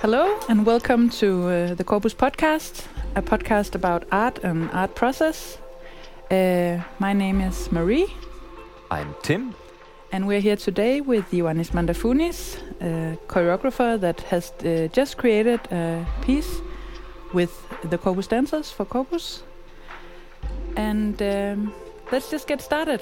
Hello and welcome to the Corpus Podcast, a podcast about art and art process. My name is Marie. I'm Tim. And we're here today with Ioannis Mandafounis, a choreographer that has just created a piece with the Corpus dancers for Corpus. And let's just get started.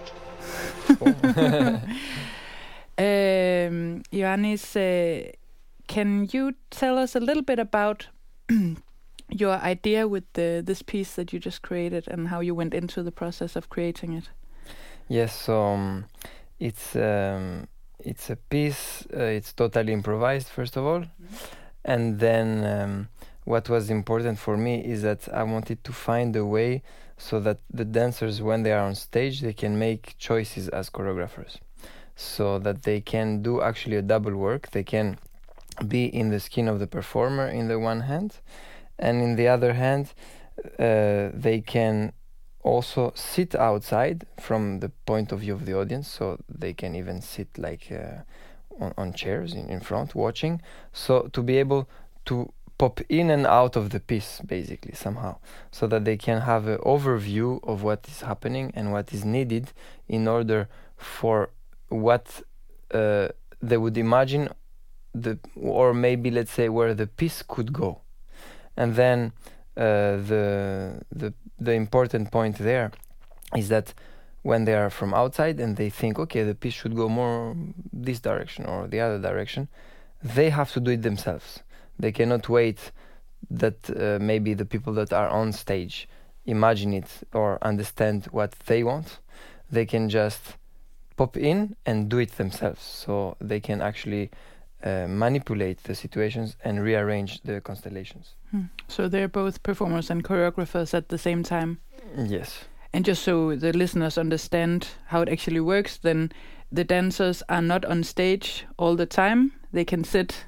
Ioannis, can you tell us a little bit about your idea with this piece that you just created and how you went into the process of creating it? Yes, so it's a piece. It's totally improvised, first of all, and then what was important for me is that I wanted to find a way so that the dancers, when they are on stage, they can make choices as choreographers, so that they can do actually a double work. They can be in the skin of the performer in the one hand, and in the other hand they can also sit outside from the point of view of the audience, so they can even sit like on chairs in front watching, so to be able to pop in and out of the piece basically somehow, so that they can have an overview of what is happening and what is needed in order for what they would imagine or maybe let's say where the piece could go. And then the important point there is that when they are from outside and they think, okay, the piece should go more this direction or the other direction, they have to do it themselves. They cannot wait that maybe the people that are on stage imagine it or understand what they want. They can just pop in and do it themselves, so they can actually manipulate the situations and rearrange the constellations. So they're both performers and choreographers at the same time? Yes. And just so the listeners understand how it actually works, then the dancers are not on stage all the time. They can sit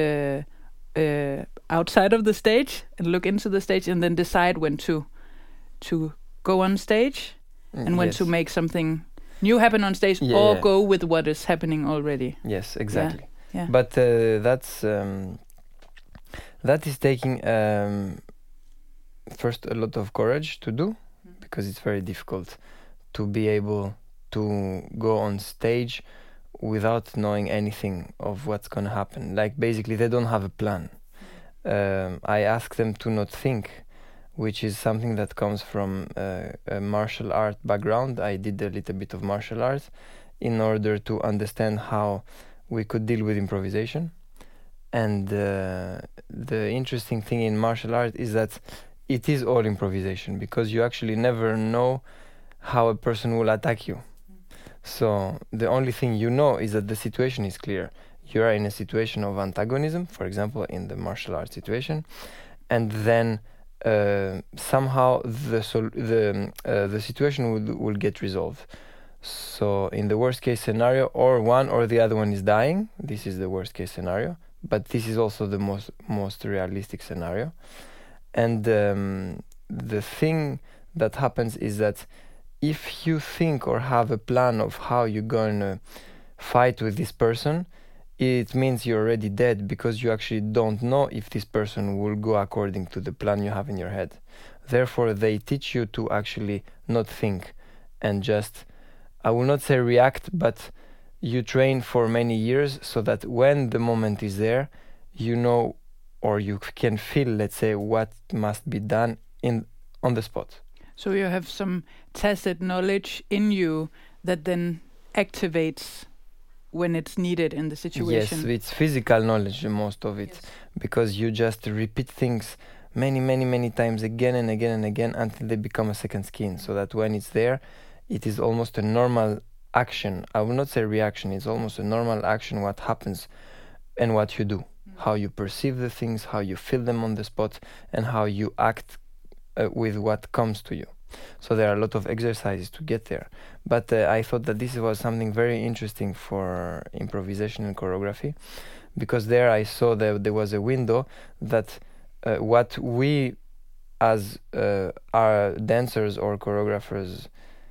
outside of the stage and look into the stage and then decide when to go on stage and when to make something new happen on stage go with what is happening already. Yes, exactly. Yeah. But that is taking first a lot of courage to do, because it's very difficult to be able to go on stage without knowing anything of what's going to happen. Like basically they don't have a plan. I ask them to not think, which is something that comes from a martial art background. I did a little bit of martial arts in order to understand how we could deal with improvisation. And the interesting thing in martial art is that it is all improvisation, because you actually never know how a person will attack you. So the only thing you know is that the situation is clear. You are in a situation of antagonism, for example, in the martial arts situation, and then somehow the situation will get resolved. So in the worst case scenario, or one or the other one is dying. This is the worst case scenario, but this is also the most realistic scenario. And the thing that happens is that if you think or have a plan of how you're going to fight with this person, it means you're already dead, because you actually don't know if this person will go according to the plan you have in your head. Therefore, they teach you to actually not think and just, I will not say react, but you train for many years so that when the moment is there, you know, or you can feel, let's say, what must be done on the spot. So you have some tacit knowledge in you that then activates when it's needed in the situation. Yes, it's physical knowledge, most of it, because you just repeat things many times again and again and again until they become a second skin, so that when it's there, it is almost a normal action. I will not say reaction, it's almost a normal action, what happens and what you do, how you perceive the things, how you feel them on the spot, and how you act with what comes to you. So there are a lot of exercises to get there. But I thought that this was something very interesting for improvisation and choreography, because there I saw that there was a window that what we as our dancers or choreographers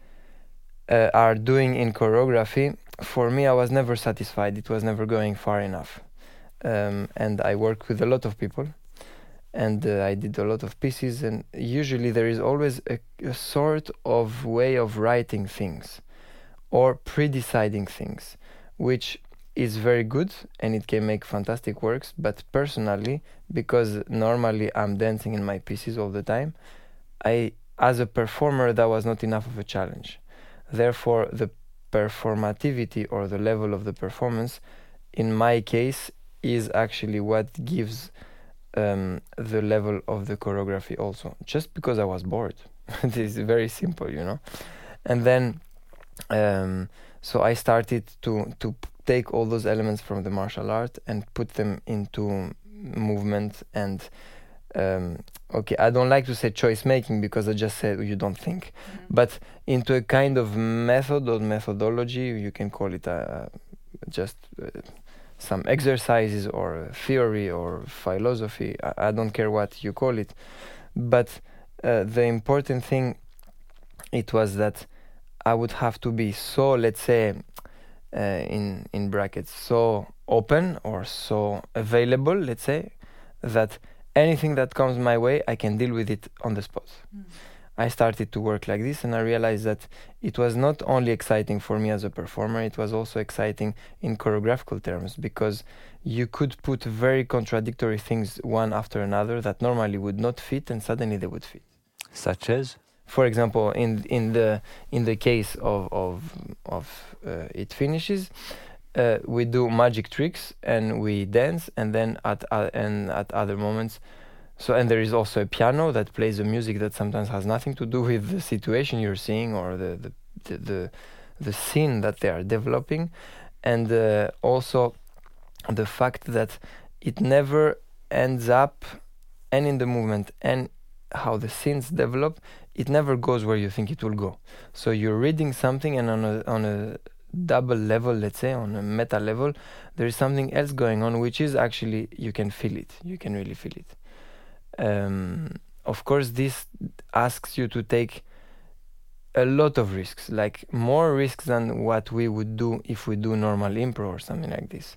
are doing in choreography, for me I was never satisfied. It was never going far enough. and I work with a lot of people, and I did a lot of pieces, and usually there is always a sort of way of writing things or pre-deciding things, which is very good and it can make fantastic works. But personally, because normally I'm dancing in my pieces all the time, as a performer, that was not enough of a challenge. Therefore, the performativity or the level of the performance, in my case, is actually what gives the level of the choreography also. Just because I was bored. It is very simple, you know. And then, so I started to take all those elements from the martial art and put them into movement and okay, I don't like to say choice making because I just said you don't think, but into a kind of method or methodology, you can call it just some exercises or theory or philosophy. I don't care what you call it, but the important thing it was that I would have to be so, let's say, in brackets, so open or so available, let's say, that anything that comes my way, I can deal with it on the spot. I started to work like this, and I realized that it was not only exciting for me as a performer, it was also exciting in choreographical terms, because you could put very contradictory things one after another that normally would not fit, and suddenly they would fit. Such as? For example, in the case of It Finishes, we do magic tricks and we dance, and then at other moments, and there is also a piano that plays a music that sometimes has nothing to do with the situation you're seeing or the scene that they are developing, and also the fact that it never ends up, and in the movement and how the scenes develop, it never goes where you think it will go. So you're reading something, and on a double level, let's say, on a meta level, there is something else going on, which is actually, you can feel it. You can really feel it. Of course, this asks you to take a lot of risks, like more risks than what we would do if we do normal impro or something like this.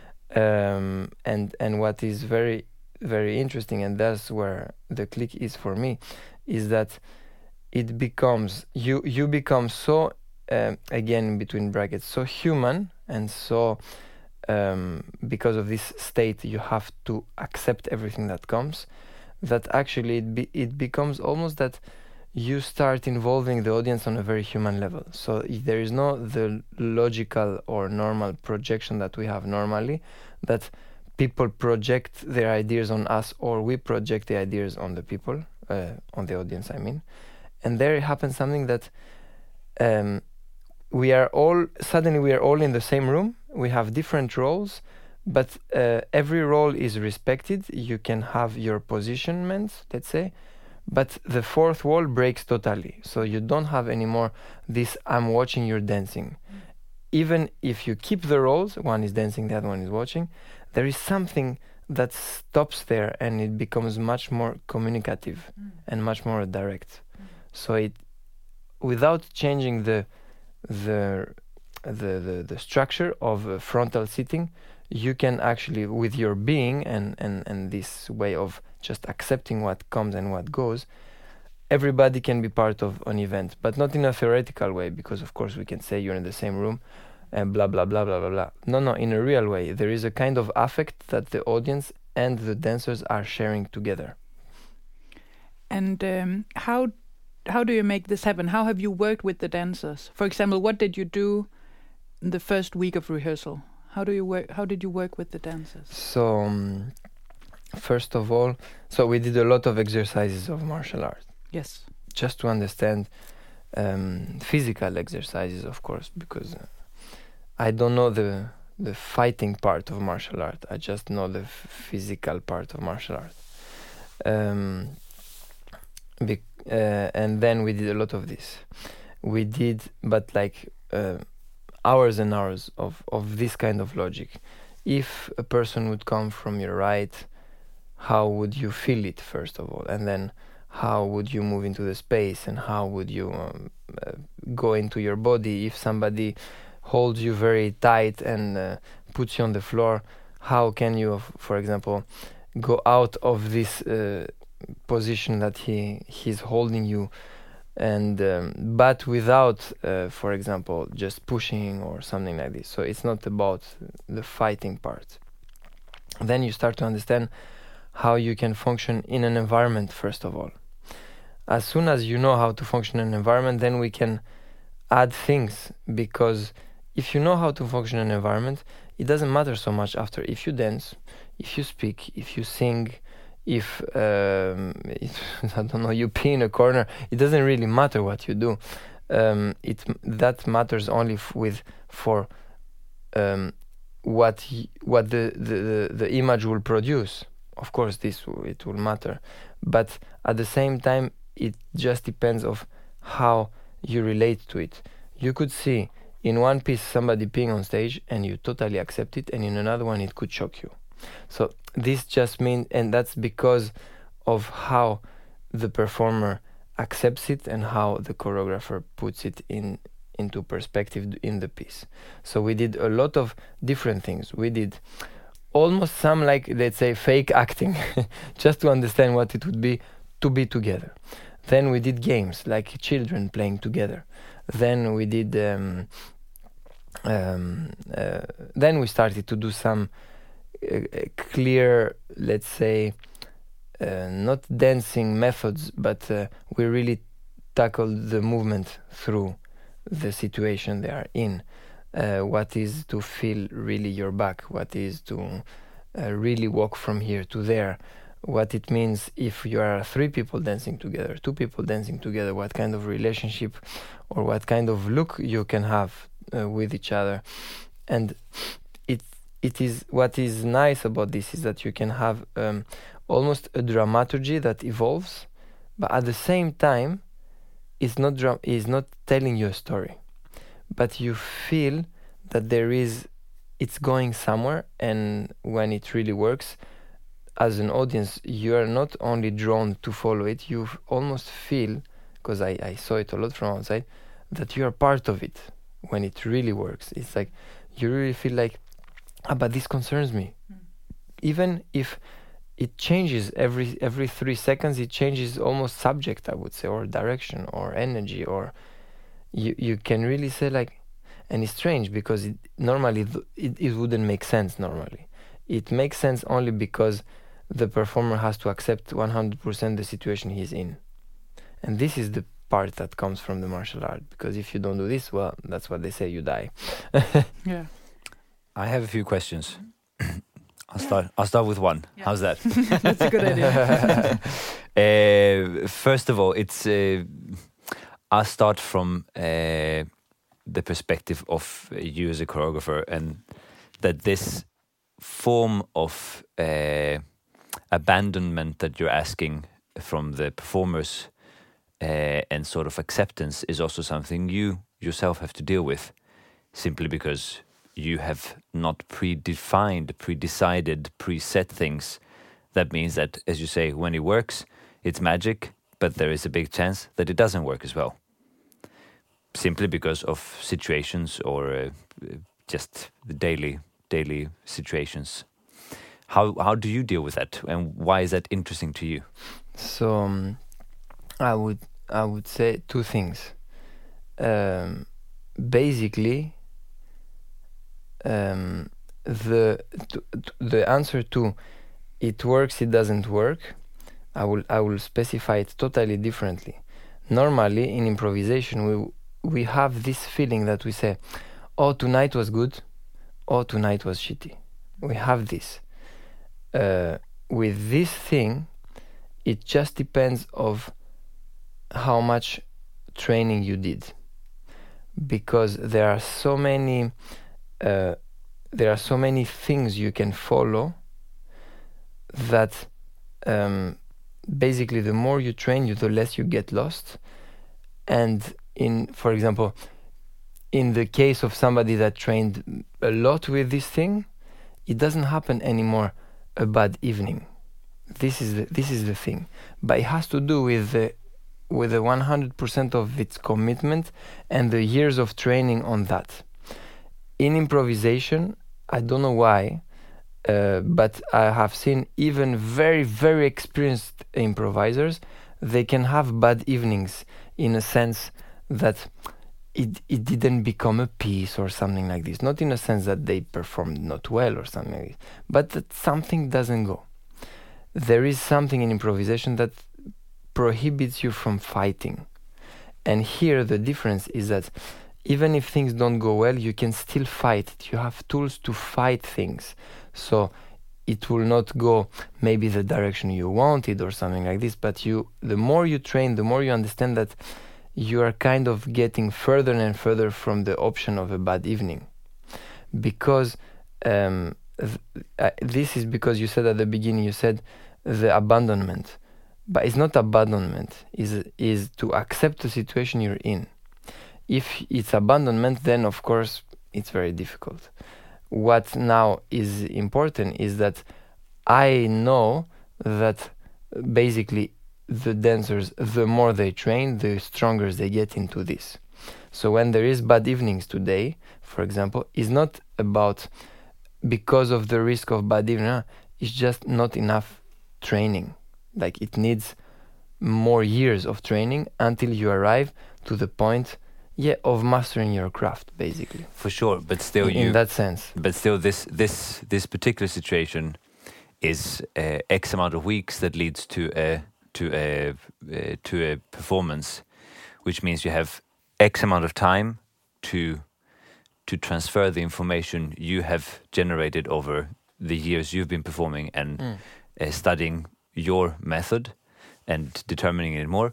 And what is very, very interesting, and that's where the click is for me, is that it becomes, you become so, again, between brackets, so human, and so because of this state you have to accept everything that comes, that actually it becomes almost that you start involving the audience on a very human level. So there is no the logical or normal projection that we have normally, that people project their ideas on us, or we project the ideas on the people, on the audience, I mean. And there happens something that we are all in the same room. We have different roles, but every role is respected. You can have your positionment, let's say, but the fourth wall breaks totally. So you don't have anymore this I'm watching, you're dancing. Even if you keep the roles, one is dancing, the other one is watching, there is something that stops there, and it becomes much more communicative and much more direct. So it, without changing the structure of frontal sitting, you can actually, with your being and this way of just accepting what comes and what goes, everybody can be part of an event, but not in a theoretical way, because of course we can say you're in the same room and blah blah blah blah blah blah. No, in a real way, there is a kind of affect that the audience and the dancers are sharing together. And how do you make this happen? How have you worked with the dancers? For example, what did you do in the first week of rehearsal? How did you work with the dancers? So first of all, we did a lot of exercises of martial art. Yes. Just to understand physical exercises, of course, because I don't know the fighting part of martial art. I just know the physical part of martial art. And then we did a lot of this. We did, but like hours and hours of this kind of logic. If a person would come from your right, how would you feel it, first of all? And then how would you move into the space, and how would you go into your body? If somebody holds you very tight and puts you on the floor, how can you, for example, go out of this position that he's holding you, and but without, for example, just pushing or something like this. So it's not about the fighting part. Then you start to understand how you can function in an environment, first of all. As soon as you know how to function in an environment, then we can add things, because if you know how to function in an environment, it doesn't matter so much after if you dance, if you speak, if you sing, if I don't know, you pee in a corner. It doesn't really matter what you do. That matters only for what the image will produce. Of course, it will matter, but at the same time, it just depends of how you relate to it. You could see in one piece somebody peeing on stage and you totally accept it, and in another one it could shock you. So this just means, and that's because of how the performer accepts it and how the choreographer puts it into perspective in the piece. So we did a lot of different things. We did almost some, like, let's say, fake acting, just to understand what it would be to be together. Then we did games, like children playing together. Then we did then we started to do some clear, let's say, not dancing methods, but we really tackled the movement through the situation they are in. What is to feel really your back? What is to really walk from here to there? What it means if you are 3 people dancing together, 2 people dancing together, what kind of relationship or what kind of look you can have with each other. And it is, what is nice about this is that you can have almost a dramaturgy that evolves, but at the same time it's not telling you a story, but you feel that it's going somewhere. And when it really works, as an audience, you are not only drawn to follow it, you almost feel, because I saw it a lot from outside, that you are part of it when it really works. It's like you really feel like, but this concerns me. Even if it changes every 3 seconds, it changes almost subject, I would say, or direction or energy, or you can really say like, and it's strange because normally it wouldn't make sense normally. It makes sense only because the performer has to accept 100% the situation he's in. And this is the part that comes from the martial art, because if you don't do this, well, that's what they say, you die. Yeah. I have a few questions. I'll start with one. Yeah. How's that? That's a good idea. First of all, I'll start from the perspective of you as a choreographer, and that this form of abandonment that you're asking from the performers and sort of acceptance is also something you yourself have to deal with, simply because you have not predecided, preset things. That means that, as you say, when it works, it's magic, but there is a big chance that it doesn't work as well, simply because of situations or just the daily situations. How do you deal with that, and why is that interesting to you? So I would say 2 things. Basically, the answer to it works, it doesn't work, I will specify it totally differently. Normally in improvisation we have this feeling that we say, oh, tonight was good, oh, tonight was shitty. We have this. With this thing, it just depends of how much training you did, because there are so many things you can follow that basically the more you train, the less you get lost. And for example, in the case of somebody that trained a lot with this thing, it doesn't happen anymore a bad evening. This is the thing, but it has to do with the 100% of its commitment and the years of training on that. In improvisation, I don't know why, But I have seen even very, very experienced improvisers, they can have bad evenings in a sense that it didn't become a piece or something like this. Not in a sense that they performed not well or something like this, but that something doesn't go. There is something in improvisation that prohibits you from fighting. And here the difference is that even if things don't go well, you can still fight it. You have tools to fight things. So it will not go maybe the direction you wanted or something like this, but the more you train, the more you understand that you are kind of getting further and further from the option of a bad evening. Because this is because you said at the beginning, you said the abandonment. But it's not abandonment, is to accept the situation you're in. If it's abandonment, then of course it's very difficult. What now is important is that I know that basically the dancers, the more they train, the stronger they get into this. So when there is bad evenings today, for example, it's not about because of the risk of bad evening, it's just not enough training. Like it needs more years of training until you arrive to the point of mastering your craft, basically. For sure, but still in that sense. But still, this particular situation is X amount of weeks that leads to a performance, which means you have X amount of time to transfer the information you have generated over the years you've been performing and studying your method and determining it more.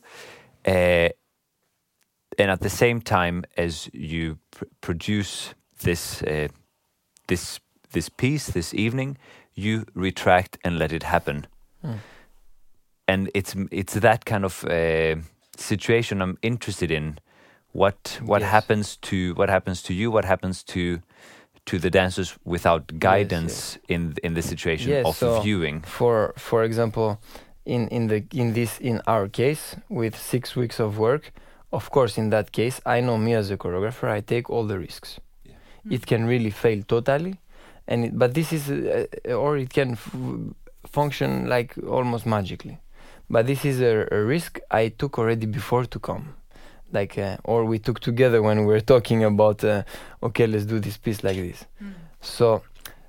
And at the same time as you produce this piece, this evening, you retract and let it happen. And it's that kind of situation I'm interested in. What happens to you? What happens to the dancers without guidance in the situation of viewing? For example, in our case, with 6 weeks of work, of course, in that case, I know me as a choreographer, I take all the risks. Yeah. It can really fail totally, but this is, or it can function like almost magically. But this is a risk I took already before to come. Like, or we took together when we were talking about, okay, let's do this piece like this. So,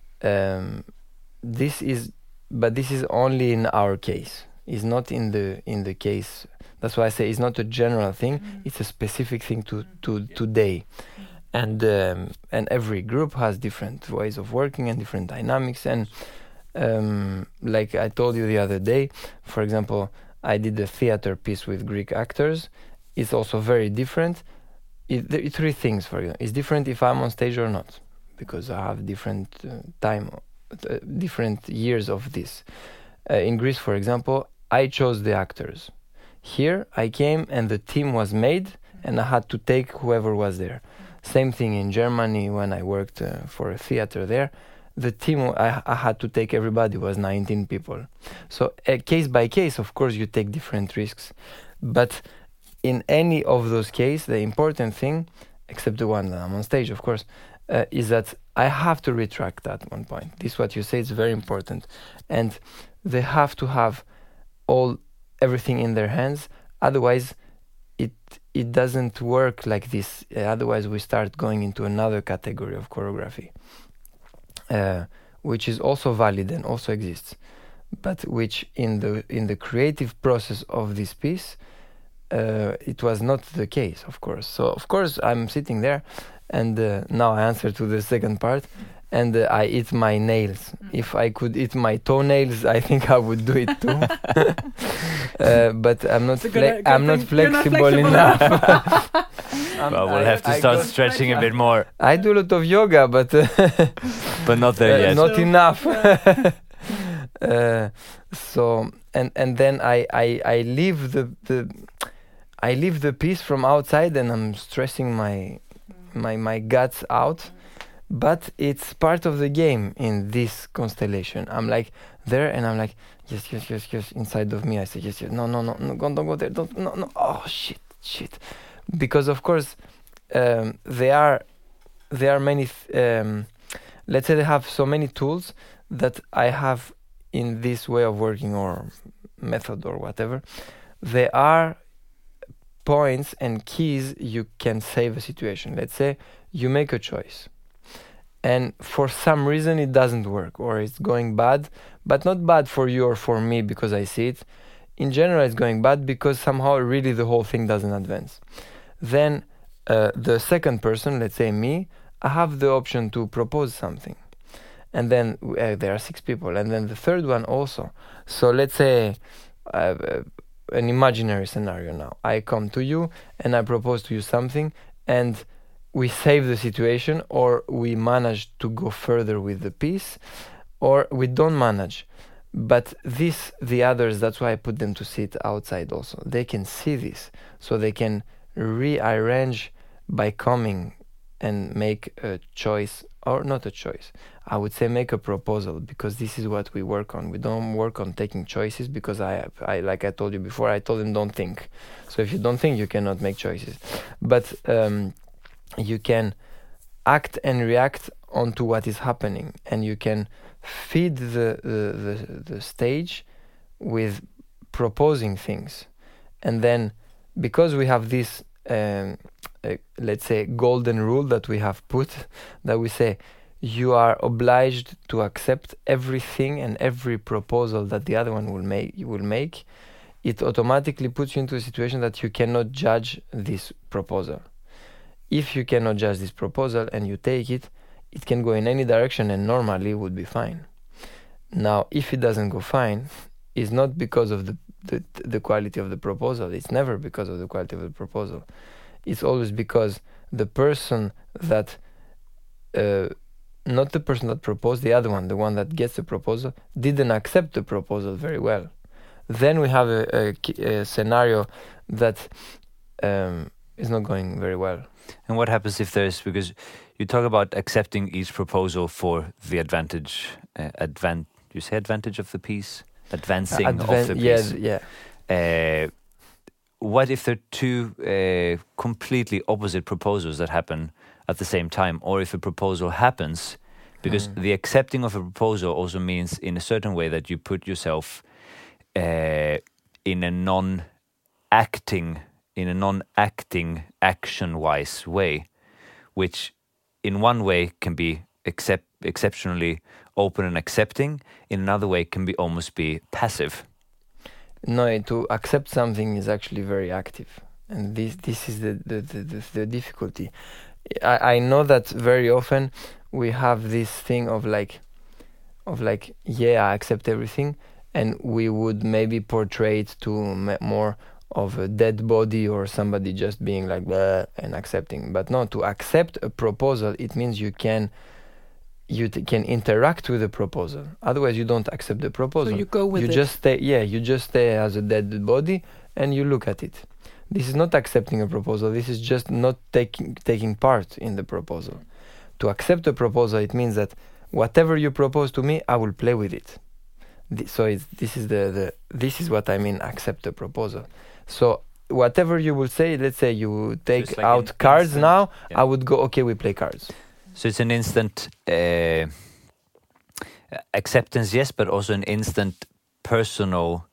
this is only in our case. It's not in the case. That's why I say it's not a general thing. It's a specific thing to today, and every group has different ways of working and different dynamics. And like I told you the other day, for example, I did a theater piece with Greek actors. It's also very different. Three things for you. It's different if I'm on stage or not, because I have different different years of this. In Greece, for example, I chose the actors. Here, I came and the team was made, and I had to take whoever was there. Same thing in Germany when I worked for a theater there. The team, I had to take everybody, was 19 people. So case by case, of course, you take different risks. But in any of those cases, the important thing, except the one that I'm on stage, of course, is that I have to retract at one point. This is what you say, it's very important. And they have to have everything in their hands. Otherwise, it doesn't work like this. Otherwise, we start going into another category of choreography, which is also valid and also exists, but which in the creative process of this piece, it was not the case, of course. So, of course, I'm sitting there, and now I answer to the second part, and I eat my nails. If I could eat my toenails, I think I would do it too. But I'm not flexible enough. Well, we'll have to start stretching a bit more. I do a lot of yoga, but but not there yet. Not enough. So and then I leave the piece from outside, and I'm stressing my guts out. But it's part of the game in this constellation. I'm like there, and I'm like, yes. Inside of me, I say, yes. No, don't go there. No. Oh, shit. Because of course, there are many. let's say they have so many tools that I have in this way of working or method or whatever. There are points and keys you can save a situation. Let's say you make a choice and for some reason it doesn't work or it's going bad, but not bad for you or for me because I see it. In general, it's going bad because somehow really the whole thing doesn't advance. Then the second person, let's say me, I have the option to propose something. And then there are 6 people. And then the third one also. So let's say an imaginary scenario now. I come to you and I propose to you something and we save the situation, or we manage to go further with the piece, or we don't manage. But the others, that's why I put them to sit outside also. They can see this, so they can rearrange by coming and make a choice, or not a choice. I would say make a proposal, because this is what we work on. We don't work on taking choices because I like I told you before, I told them don't think. So if you don't think, you cannot make choices. But you can act and react onto what is happening, and you can feed the stage with proposing things. And then because we have this let's say golden rule that we have put, that we say you are obliged to accept everything and every proposal that the other one will make, it automatically puts you into a situation that you cannot judge this proposal. If you cannot judge this proposal and you take it, it can go in any direction and normally would be fine. Now, if it doesn't go fine, it's not because of the quality of the proposal. It's never because of the quality of the proposal. It's always because the person that, not the person that proposed, the other one, the one that gets the proposal, didn't accept the proposal very well. Then we have a scenario that is not going very well. And what happens if because you talk about accepting each proposal for the advantage of the piece? Advancing of the piece. Yeah. What if there are 2 completely opposite proposals that happen at the same time? Or if a proposal happens, because the accepting of a proposal also means in a certain way that you put yourself in a non-acting, action-wise way, which in one way can be exceptionally open and accepting, in another way can be almost be passive. No, to accept something is actually very active, and this is the difficulty. I know that very often we have this thing of like yeah, I accept everything, and we would maybe portray it to more of a dead body or somebody just being like blah and accepting. But no, to accept a proposal, it means you can interact with the proposal. Otherwise, you don't accept the proposal. So you go with it. You just stay as a dead body and you look at it. This is not accepting a proposal. This is just not taking part in the proposal. To accept a proposal, it means that whatever you propose to me, I will play with it. This is what I mean. Accept a proposal. So whatever you will say, let's say you take like out cards instant, now, yeah. I would go, okay, we play cards. So it's an instant acceptance, yes, but also an instant personal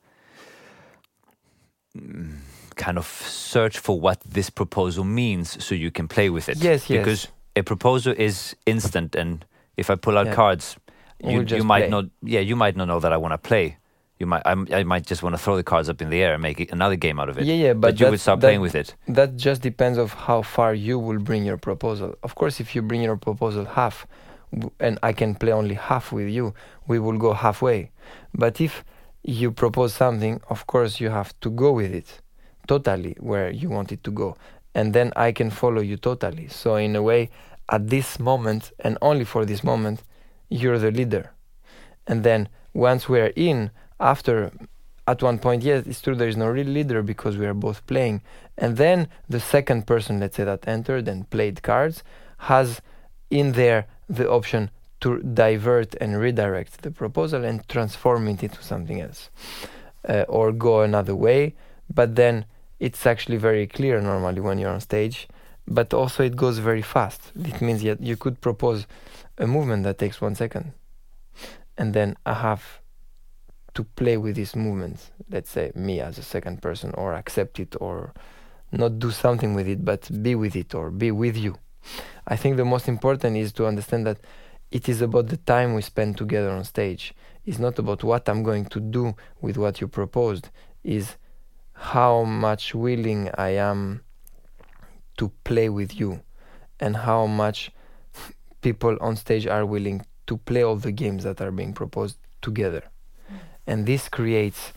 kind of search for what this proposal means, so you can play with it. Yes. Because a proposal is instant, and if I pull out cards, you might not. Yeah, you might not know that I want to play. I might just want to throw the cards up in the air and make another game out of it. Yeah, but you would start playing with it. That just depends of how far you will bring your proposal. Of course, if you bring your proposal half, and I can play only half with you, we will go halfway. But if you propose something, of course, you have to go with it totally where you want it to go, and then I can follow you totally. So in a way, at this moment, and only for this moment, you're the leader. And then once we're in, after, at one point, yes, it's true, there is no real leader because we are both playing. And then the second person, let's say, that entered and played cards, has in there the option to divert and redirect the proposal and transform it into something else. Or go another way. But then it's actually very clear normally when you're on stage. but also it goes very fast. It means that you could propose a movement that takes 1 second, and then I have to play with this movement, let's say me as a second person, or accept it, or not do something with it, but be with it or be with you. I think the most important is to understand that it is about the time we spend together on stage. It's not about what I'm going to do with what you proposed, is how much willing I am to play with you, and how much people on stage are willing to play all the games that are being proposed together. And this creates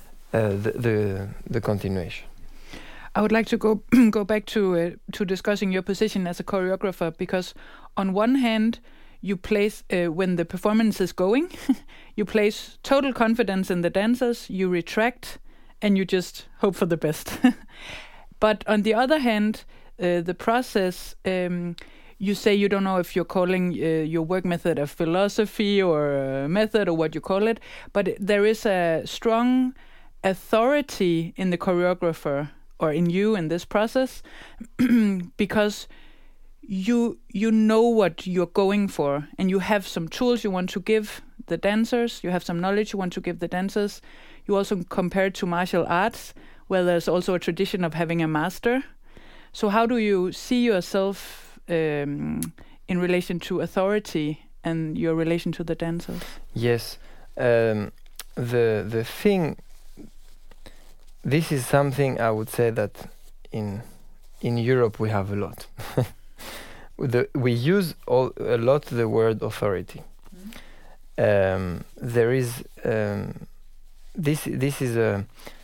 the continuation. I would like to go back to discussing your position as a choreographer, because on one hand, you place, when the performance is going, you place total confidence in the dancers, you retract, and you just hope for the best. But on the other hand, the process, you say you don't know if you're calling your work method a philosophy or a method or what you call it, but there is a strong authority in the choreographer or in you in this process, because you know what you're going for, and you have some tools you want to give the dancers, you have some knowledge you want to give the dancers. You also compare it to martial arts, where there's also a tradition of having a master. So how do you see yourself in relation to authority and your relation to the dancers? Yes, the thing, this is something I would say that in Europe we have a lot. We use a lot the word authority. There is this is a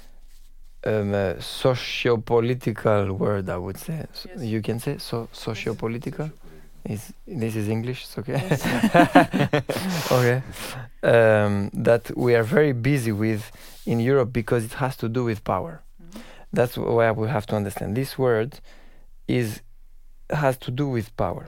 socio-political word, I would say. Yes. You can say socio-political. This is English. It's okay. Yes. Okay. That we are very busy with in Europe because it has to do with power. Mm-hmm. That's why we have to understand this word has to do with power.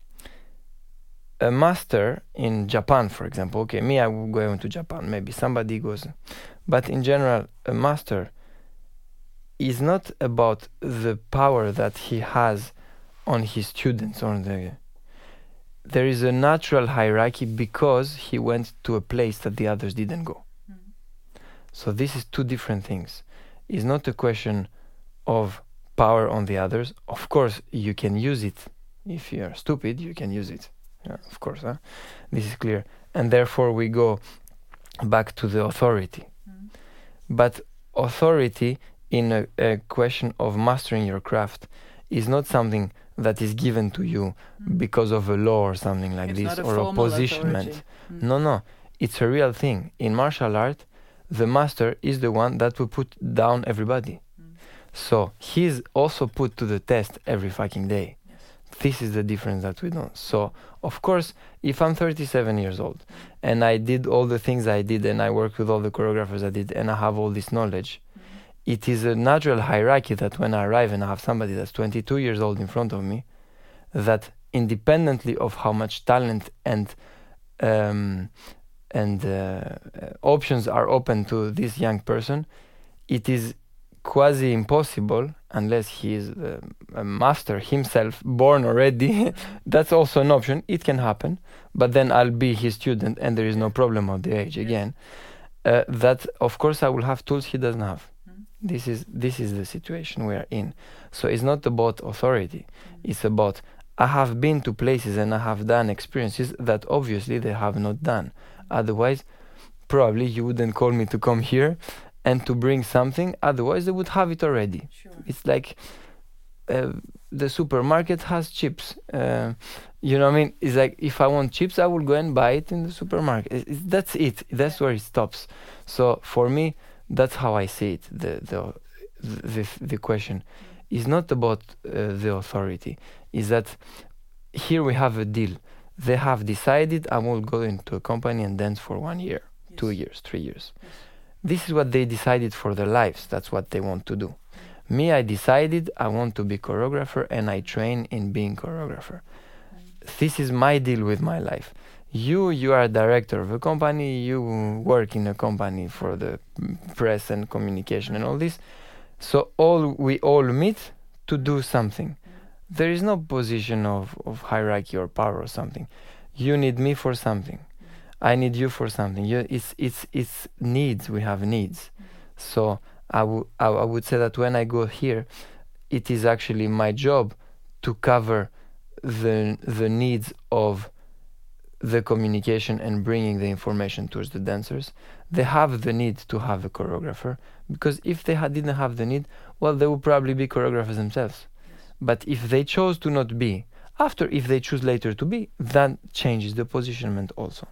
A master in Japan, for example, okay, me, I will go to Japan, maybe somebody goes, but in general, a master is not about the power that he has on his students. There is a natural hierarchy because he went to a place that the others didn't go. Mm-hmm. So this is two different things. It's not a question of power on the others. Of course, you can use it. If you're stupid, you can use it. Yeah, of course, this is clear. And therefore we go back to the authority. Mm-hmm. But authority in a question of mastering your craft is not something that is given to you because of a law or something like this, or a positionment. No, it's a real thing. In martial art, the master is the one that will put down everybody. So he's also put to the test every fucking day. This is the difference that we don't. So, of course, if I'm 37 years old and I did all the things I did and I worked with all the choreographers I did and I have all this knowledge, it is a natural hierarchy that when I arrive and I have somebody that's 22 years old in front of me, that independently of how much talent and options are open to this young person, it is quasi impossible, unless he is a master himself, born already. That's also an option. It can happen, but then I'll be his student and there is no problem of the age again. That of course I will have tools he doesn't have. This is the situation we are in. So it's not about authority. It's about, I have been to places and I have done experiences that obviously they have not done. Otherwise, probably you wouldn't call me to come here and to bring something, otherwise they would have it already. Sure. It's like the supermarket has chips. You know what I mean? It's like, if I want chips, I will go and buy it in the supermarket. That's it. That's where it stops. So for me, that's how I see it. The question is not about the authority. Is that here we have a deal. They have decided I will go into a company and dance for 1 year, 2 years, 3 years. Yes. This is what they decided for their lives. That's what they want to do. Me, I decided I want to be choreographer and I train in being choreographer. This is my deal with my life. You are a director of a company, you work in a company for the press and communication and all this. So we all meet to do something. there is no position of hierarchy or power or something. You need me for something. I need you for something. It's needs. We have needs. So I would say that when I go here, it is actually my job to cover the needs of the communication and bringing the information towards the dancers. They have the need to have a choreographer, because if they didn't have the need, well, they would probably be choreographers themselves. But if they chose to not be, if they choose later to be, that changes the positionment also.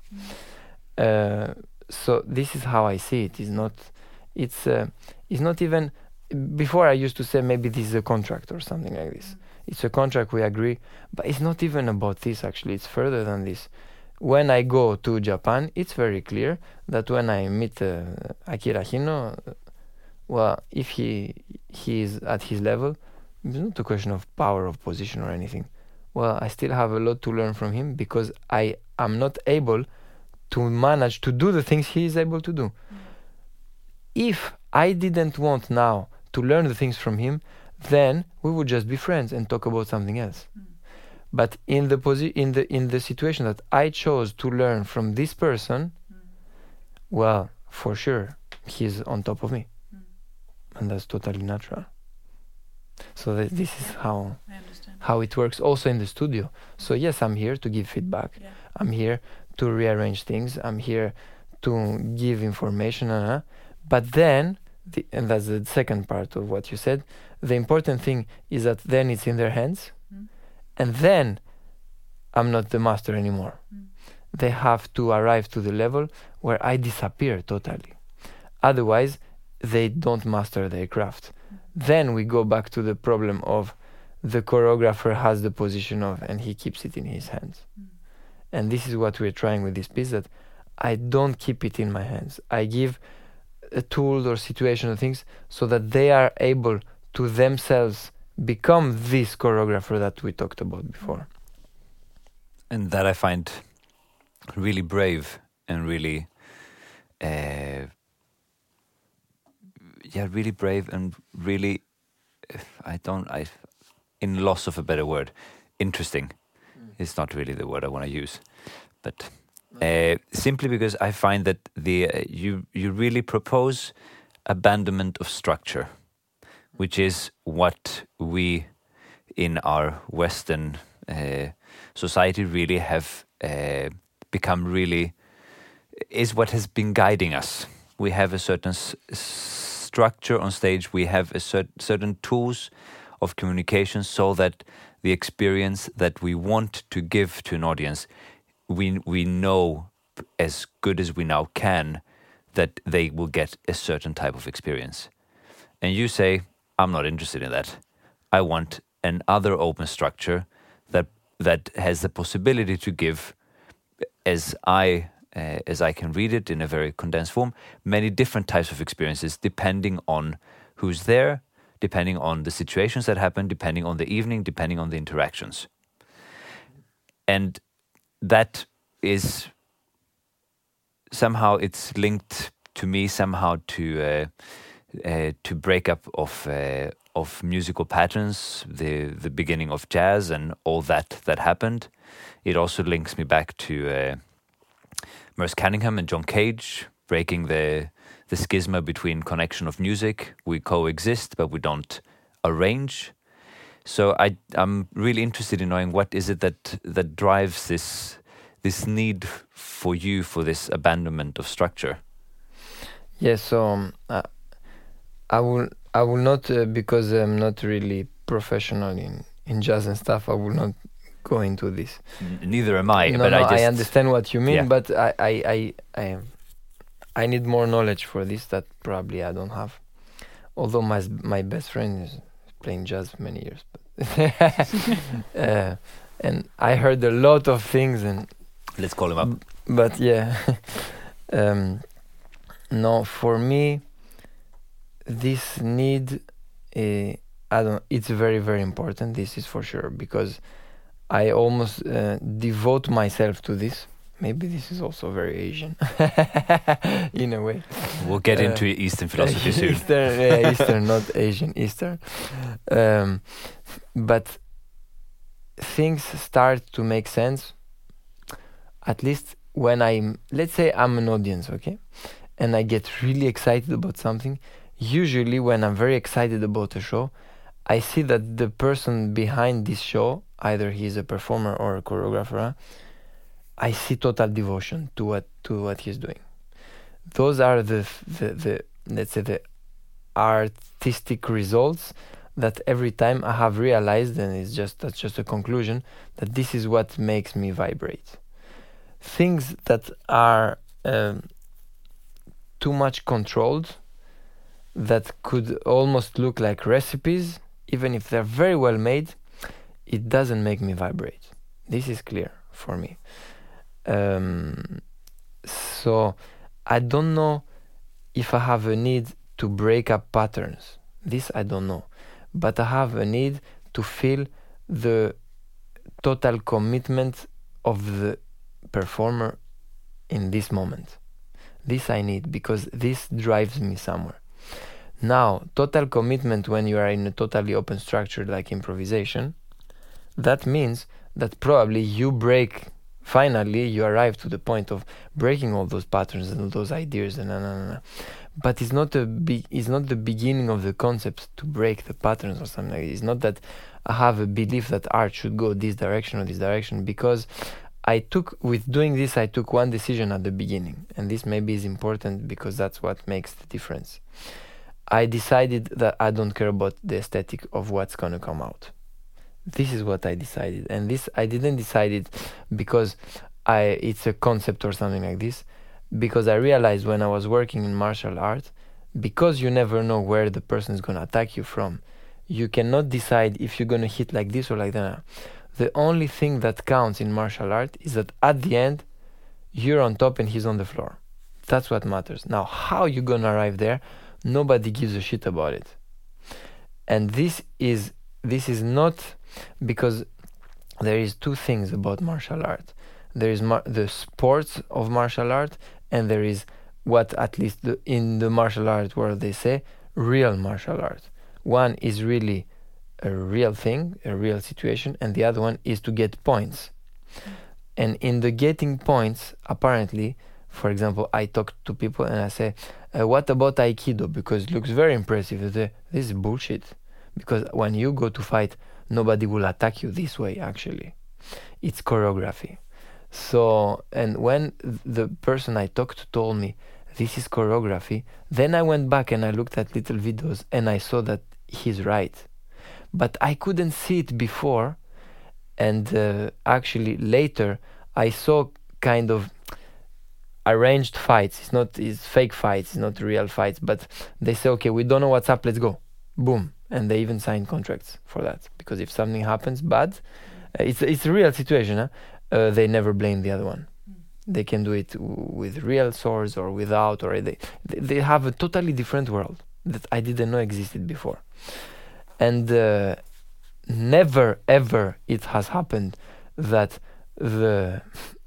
So this is how I see it. It's not even. Before I used to say maybe this is a contract or something like this. It's a contract, we agree, but it's not even about this. Actually, it's further than this. When I go to Japan, it's very clear that when I meet Akira Hino, well, if he is at his level, it's not a question of power, of position or anything. Well, I still have a lot to learn from him, because I am not able to manage to do the things he is able to do. If I didn't want now to learn the things from him, then we would just be friends and talk about something else. But in the situation that I chose to learn from this person, well, for sure, he's on top of me. And that's totally natural. So this is how it works also in the studio. So yes, I'm here to give feedback. Yeah. I'm here to rearrange things. I'm here to give information. But then, and that's the second part of what you said, the important thing is that then it's in their hands. And then I'm not the master anymore. They have to arrive to the level where I disappear totally. Otherwise, they don't master their craft. Then we go back to the problem of the choreographer has the position of, and he keeps it in his hands. And this is what we're trying with this piece, that I don't keep it in my hands. I give a tool or situation or things so that they are able to themselves become this choreographer that we talked about before. And that I find really brave and really really brave and really in loss of a better word, interesting. It's not really the word I want to use, but simply because I find that you really propose abandonment of structure, which is what we in our Western society really have become really, is what has been guiding us. We have a certain structure on stage, we have a certain tools of communication so that the experience that we want to give to an audience, we know as good as we now can that they will get a certain type of experience. And you say, I'm not interested in that. I want another open structure that has the possibility to give, as I can read it in a very condensed form, many different types of experiences depending on who's there, depending on the situations that happen, depending on the evening, depending on the interactions. And that is somehow, it's linked to me somehow to break up of musical patterns, the beginning of jazz and all that happened. It also links me back to Merce Cunningham and John Cage, breaking the schisma between connection of music. We coexist, but we don't arrange. So I'm really interested in knowing what is it that drives this need for you for this abandonment of structure. Yes, so I will not, because I'm not really professional in jazz and stuff, I will not go into this. Neither am I. No, but I understand what you mean, yeah. But I need more knowledge for this that probably I don't have. Although my best friend is playing jazz for many years, but and I heard a lot of things. And let's call him up. But yeah, no, for me, this need, it's very, very important. This is for sure, because I almost devote myself to this. Maybe this is also very Asian, in a way. We'll get into Eastern philosophy soon. Eastern, not Asian, Eastern. But things start to make sense, at least when let's say I'm an audience, okay? And I get really excited about something. Usually when I'm very excited about a show, I see that the person behind this show, either he's a performer or a choreographer, I see total devotion to what he's doing. Those are the let's say the artistic results that every time I have realized, and that's just a conclusion, that this is what makes me vibrate. Things that are too much controlled, that could almost look like recipes, even if they're very well made, it doesn't make me vibrate. This is clear for me. So I don't know if I have a need to break up patterns. This I don't know. But I have a need to feel the total commitment of the performer in this moment. This I need, because this drives me somewhere. Now, total commitment when you are in a totally open structure like improvisation, that means that probably finally you arrive to the point of breaking all those patterns and all those ideas and But it's not the beginning of the concept to break the patterns or something like that. It's not that I have a belief that art should go this direction or this direction, because with doing this, I took one decision at the beginning, and this maybe is important because that's what makes the difference. I decided that I don't care about the aesthetic of what's going to come out. This is what I decided, and this I didn't decide it because it's a concept or something like this, because I realized when I was working in martial art, because you never know where the person is going to attack you from, you cannot decide if you're going to hit like this or like that. The only thing that counts in martial art is that at the end, you're on top and he's on the floor. That's what matters. Now, how you're going to arrive there, nobody gives a shit about it. And this is not, because there is two things about martial art. There is the sports of martial art, and there is what, at least in the martial art world, they say real martial art. One is really a real thing, a real situation, and the other one is to get points. And in the getting points, apparently, for example, I talk to people and I say, what about Aikido? Because it looks very impressive. They say, this is bullshit. Because when you go to fight, nobody will attack you this way, actually. It's choreography. So, and when the person I talked to told me, this is choreography, then I went back and I looked at little videos and I saw that he's right. But I couldn't see it before, and actually later I saw kind of arranged fights. It's fake fights, it's not real fights, but they say, okay, we don't know what's up, let's go. Boom. And they even sign contracts for that, because if something happens bad, it's a real situation, they never blame the other one. They can do it with real swords or without, or they have a totally different world that I didn't know existed before. And never ever it has happened that the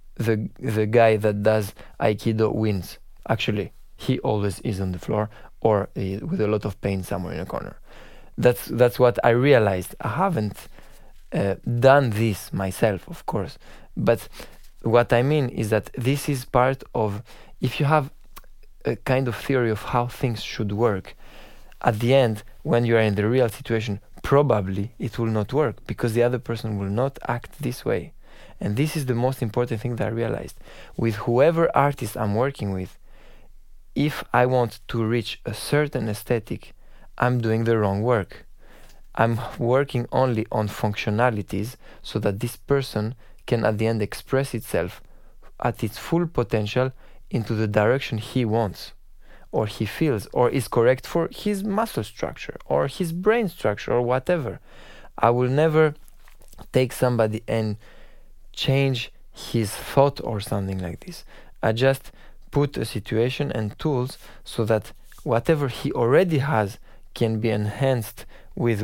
guy that does Aikido wins. Actually, he always is on the floor or with a lot of pain somewhere in a corner. That's what I realized. I haven't done this myself, of course, but what I mean is that this is part of, if you have a kind of theory of how things should work, at the end, when you are in the real situation, probably it will not work, because the other person will not act this way. And this is the most important thing that I realized. With whoever artist I'm working with, if I want to reach a certain aesthetic, I'm doing the wrong work. I'm working only on functionalities so that this person can at the end express itself at its full potential into the direction he wants, or he feels, or is correct for his muscle structure or his brain structure or whatever. I will never take somebody and change his thought or something like this. I just put a situation and tools so that whatever he already has can be enhanced with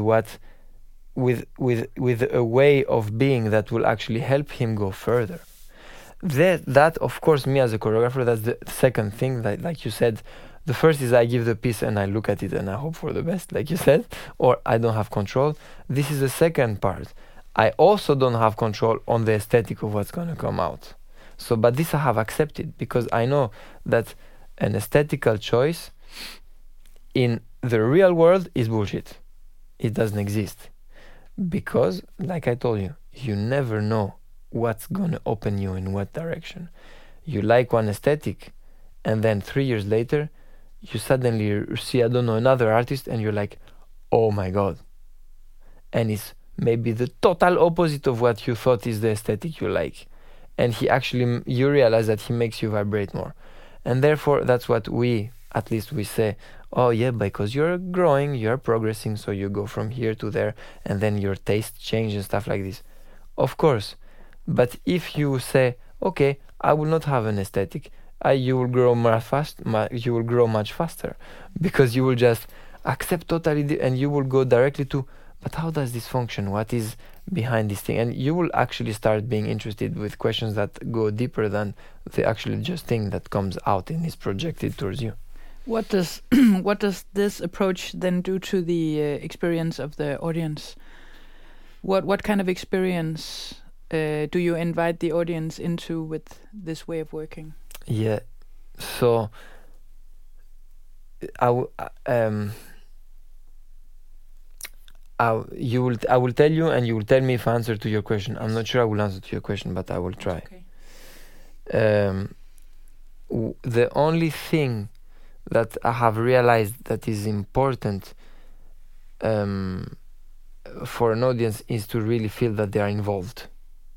a way of being that will actually help him go further. That of course, me as a choreographer, that's the second thing. That, like you said, the first is I give the piece and I look at it and I hope for the best, like you said, or I don't have control. This is the second part. I also don't have control on the aesthetic of what's going to come out. So, but this I have accepted because I know that an aesthetical choice in the real world is bullshit. It doesn't exist. Because, like I told you, you never know what's going to open you in what direction. You like one aesthetic, and then 3 years later, you suddenly see, I don't know, another artist, and you're like, oh my God. And it's maybe the total opposite of what you thought is the aesthetic you like. And you realize that he makes you vibrate more. And therefore, that's what at least we say, oh yeah, because you're growing, you're progressing, so you go from here to there, and then your taste changes and stuff like this. Of course. But if you say, okay, I will not have an aesthetic, you will grow you will grow much faster, because you will just accept totally, and you will go directly to, but how does this function? What is behind this thing? And you will actually start being interested with questions that go deeper than the actual just thing that comes out and is projected towards you. What does this approach then do to the experience of the audience? What kind of experience do you invite the audience into with this way of working? Yeah, so I will tell you, and you will tell me if I answer to your question. I'm not sure I will answer to your question, but I will try. Okay. The only thing that I have realized that is important for an audience is to really feel that they are involved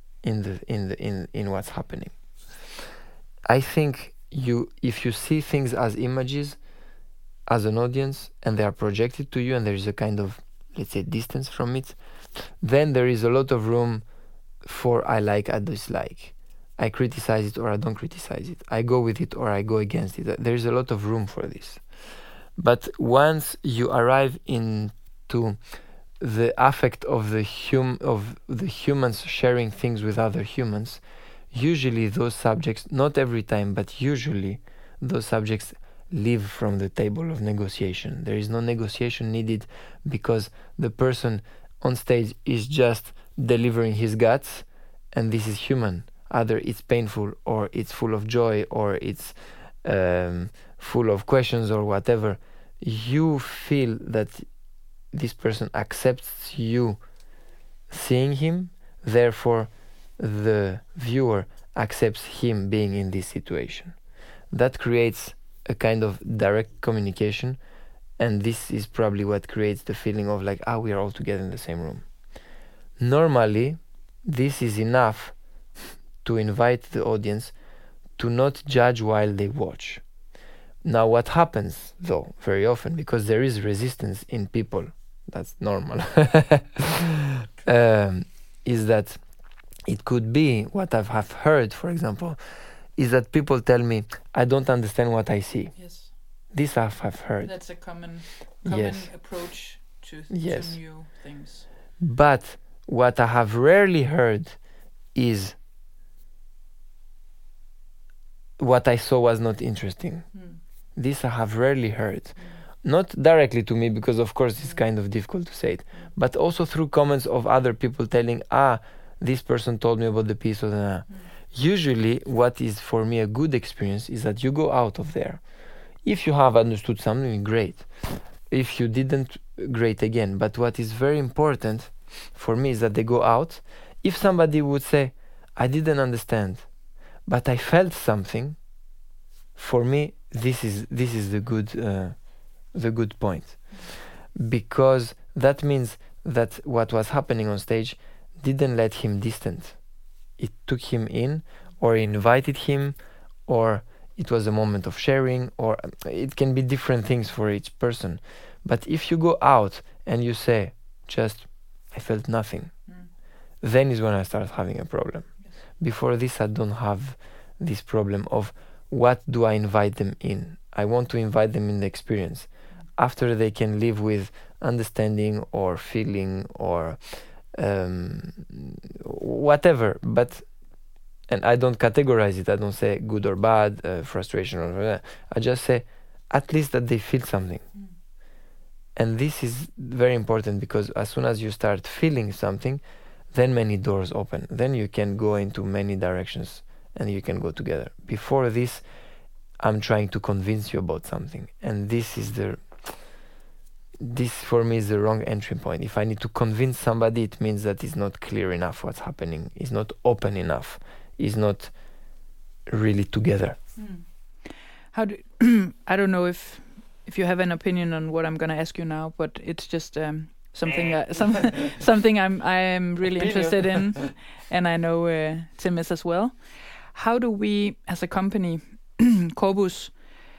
in what's happening. I think if you see things as images as an audience, and they are projected to you, and there is a kind of, let's say, distance from it, then there is a lot of room for I like, I dislike. I criticize it or I don't criticize it. I go with it or I go against it. There is a lot of room for this. But once you arrive into the affect of the humans sharing things with other humans, usually those subjects, not every time, but usually those subjects leave from the table of negotiation. There is no negotiation needed, because the person on stage is just delivering his guts, and this is human. Either it's painful, or it's full of joy, or it's full of questions, or whatever. You feel that this person accepts you seeing him, therefore the viewer accepts him being in this situation. That creates a kind of direct communication, and this is probably what creates the feeling of like, we are all together in the same room. Normally, this is enough to invite the audience to not judge while they watch. Now, what happens, though, very often, because there is resistance in people, that's normal, is that it could be, what I have heard, for example, is that people tell me, I don't understand what I see. Yes. This I have heard. That's a common Yes. approach to Yes. new things. But what I have rarely heard is, what I saw was not interesting. This I have rarely heard. Not directly to me, because of course it's kind of difficult to say it, but also through comments of other people telling, this person told me about the piece, or Usually what is for me a good experience is that you go out of there. If you have understood something, great. If you didn't, great again. But what is very important for me is that they go out. If somebody would say, I didn't understand, but I felt something, for me this is the good point, because that means that what was happening on stage didn't let him distant. It took him in, or invited him, or it was a moment of sharing, or it can be different things for each person. But if you go out and you say, just, I felt nothing, then is when I start having a problem. Yes. Before this, I don't have this problem of what do I invite them in. I want to invite them in the experience. After they can live with understanding or feeling or whatever, and I don't categorize it. I don't say good or bad, frustration or whatever. I just say at least that they feel something. And this is very important, because as soon as you start feeling something, then many doors open. Then you can go into many directions and you can go together. Before this, I'm trying to convince you about something, and this for me is the wrong entry point. If I need to convince somebody, it means that it's not clear enough what's happening, it's not open enough, it's not really together. How do I don't know if you have an opinion on what I'm going to ask you now, but it's just something something I am really interested in, and I know Tim is as well. How do we, as a company, Corpus,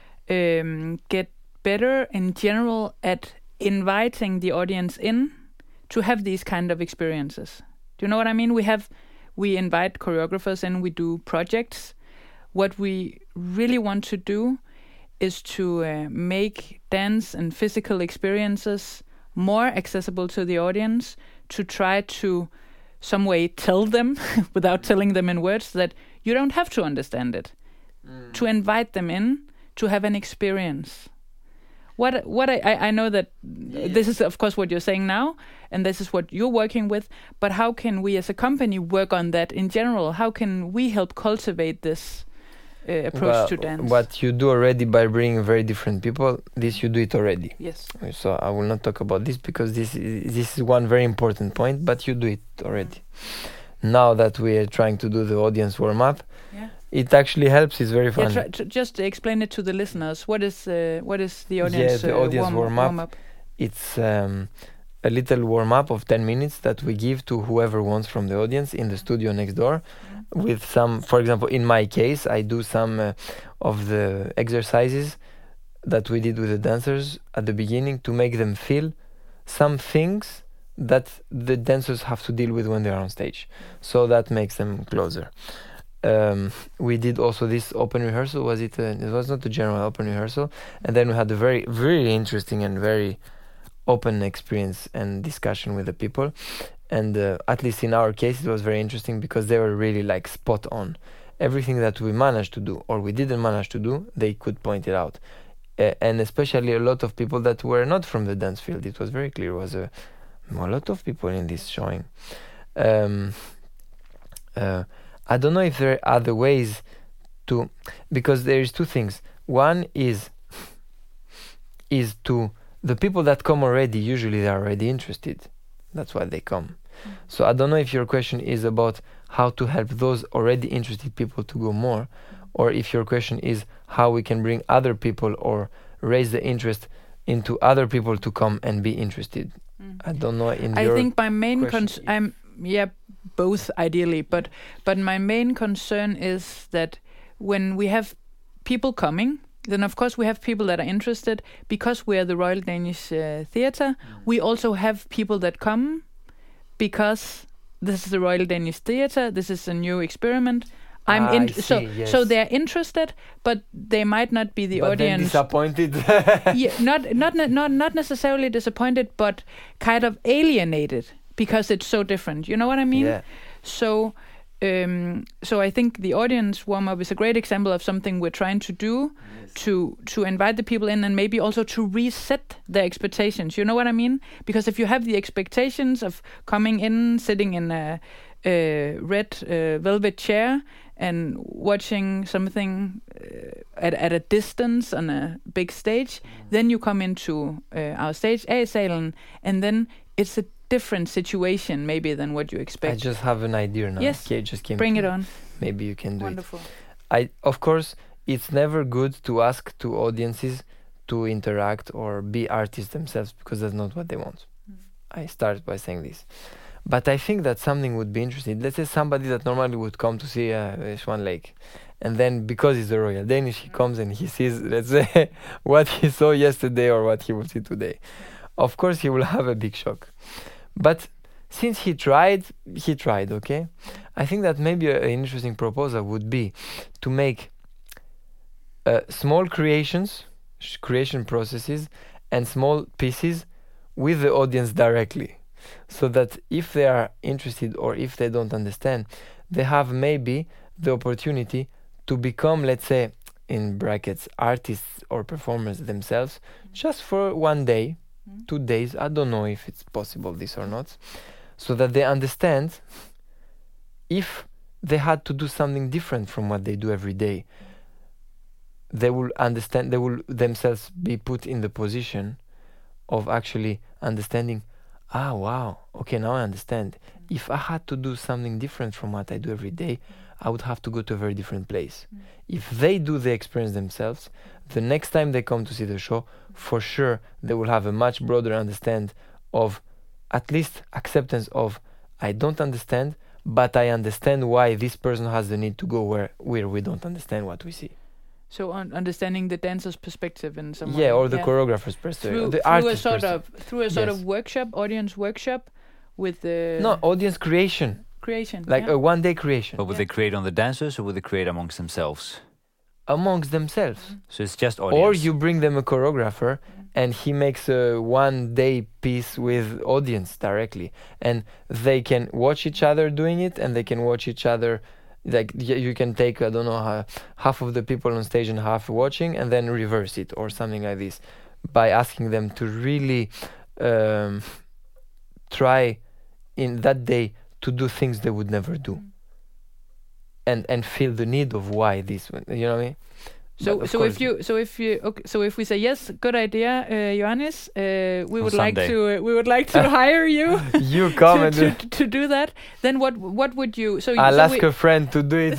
get better in general at inviting the audience in to have these kind of experiences? Do you know what I mean? We invite choreographers in, we do projects. What we really want to do is to make dance and physical experiences more accessible to the audience, to try to some way tell them, without telling them in words, that you don't have to understand it. To invite them in, to have an experience. What I know that this is of course what you're saying now, and this is what you're working with, but how can we as a company work on that in general? How can we help cultivate this approach to dance? What you do already by bringing very different people, this you do it already. Yes. So I will not talk about this because this is one very important point, but you do it already. Now that we are trying to do the audience warm-up, it actually helps. It's very fun. Yeah, just explain it to the listeners. What is the audience? Yeah, the audience warm-up. It's a little warm-up of 10 minutes that we give to whoever wants from the audience in the studio next door. With some, for example, in my case, I do some of the exercises that we did with the dancers at the beginning to make them feel some things that the dancers have to deal with when they are on stage. So that makes them closer. We did also this open rehearsal. It was not a general open rehearsal, and then we had a very, very interesting and very open experience and discussion with the people. And at least in our case, it was very interesting because they were really like spot on. Everything that we managed to do or we didn't manage to do, they could point it out. And especially a lot of people that were not from the dance field. It was very clear. It was a lot of people in this showing. I don't know if there are other ways to, because there is two things. One is to the people that come already, usually they are already interested. That's why they come. So I don't know if your question is about how to help those already interested people to go more, or if your question is how we can bring other people or raise the interest into other people to come and be interested. I don't know. I think my main concern, both ideally, but my main concern is that when we have people coming, then of course we have people that are interested because we are the Royal Danish Theatre. We also have people that come because this is the Royal Danish Theatre. This is a new experiment. So they're interested, but they might not be the audience. Disappointed. not necessarily disappointed, but kind of alienated because it's so different. You know what I mean? Yeah. So I think the audience warm-up is a great example of something we're trying to do to invite the people in and maybe also to reset their expectations. You know what I mean? Because if you have the expectations of coming in, sitting in a red velvet chair and watching something at a distance on a big stage, then you come into our stage, A-salen, and then it's a different situation maybe than what you expect. I just have an idea now. Yes, okay, just came bring it on. Maybe you can do Wonderful. it. Of course, it's never good to ask to audiences to interact or be artists themselves because that's not what they want. I start by saying this. But I think that something would be interesting. Let's say somebody that normally would come to see Swan Lake, and then because he's the Royal Danish, he comes and he sees, let's say, what he saw yesterday or what he will see today. Of course, he will have a big shock. But since he tried, okay? I think that maybe an interesting proposal would be to make small creation processes and small pieces with the audience directly. So that if they are interested or if they don't understand, they have maybe the opportunity to become, let's say, in brackets, artists or performers themselves, just for 1 day, 2 days. I don't know if it's possible this or not. so that they understand if they had to do something different from what they do every day, they will understand, they will themselves be put in the position of actually understanding, wow, okay, now I understand. If I had to do something different from what I do every day, I would have to go to a very different place. If they do the experience themselves, the next time they come to see the show, for sure they will have a much broader understand of, at least acceptance of, I don't understand, but I understand why this person has the need to go where we don't understand what we see. So understanding the dancer's perspective in some way. Yeah, or the choreographer's perspective, the through artist's a sort of workshop, audience workshop, with the audience creation, like a one-day creation. But would they create on the dancers, or would they create amongst themselves? Amongst themselves. So it's just audience. Or you bring them a choreographer, and he makes a one-day piece with audience directly, and they can watch each other doing it, and they can watch each other. Like you can take, I don't know, half of the people on stage and half watching, and then reverse it or something like this, by asking them to really try in that day to do things they would never do, and feel the need of why this, you know what I mean? So if we say yes, good idea, Ioannis, we would Sunday. like to hire you. You come to do that. Then what would you? I'll ask a friend to do it.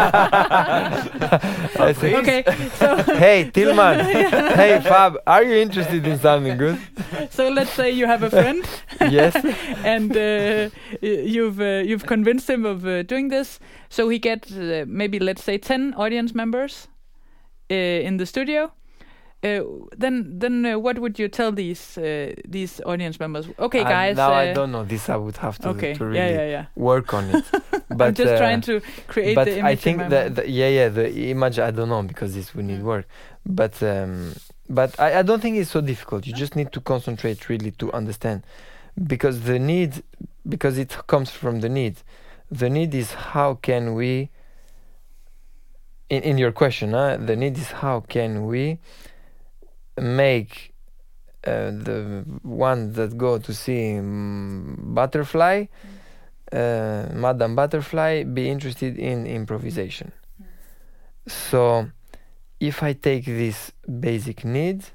Okay. So hey Tilman, hey Fab, are you interested in something good? So let's say you have a friend. Yes. And you've convinced him of doing this. So he gets maybe, let's say, 10 audience members in the studio. Then what would you tell these audience members? Okay, guys. Now I don't know. This I would have to really work on it. But I'm just trying to create the image. But I think the image, I don't know, because this would need work. But I don't think it's so difficult. You just need to concentrate really to understand, because it comes from the need. The need is how can we. In your question, the need is how can we make the ones that go to see Butterfly, Madame Butterfly, be interested in improvisation. So if I take this basic need,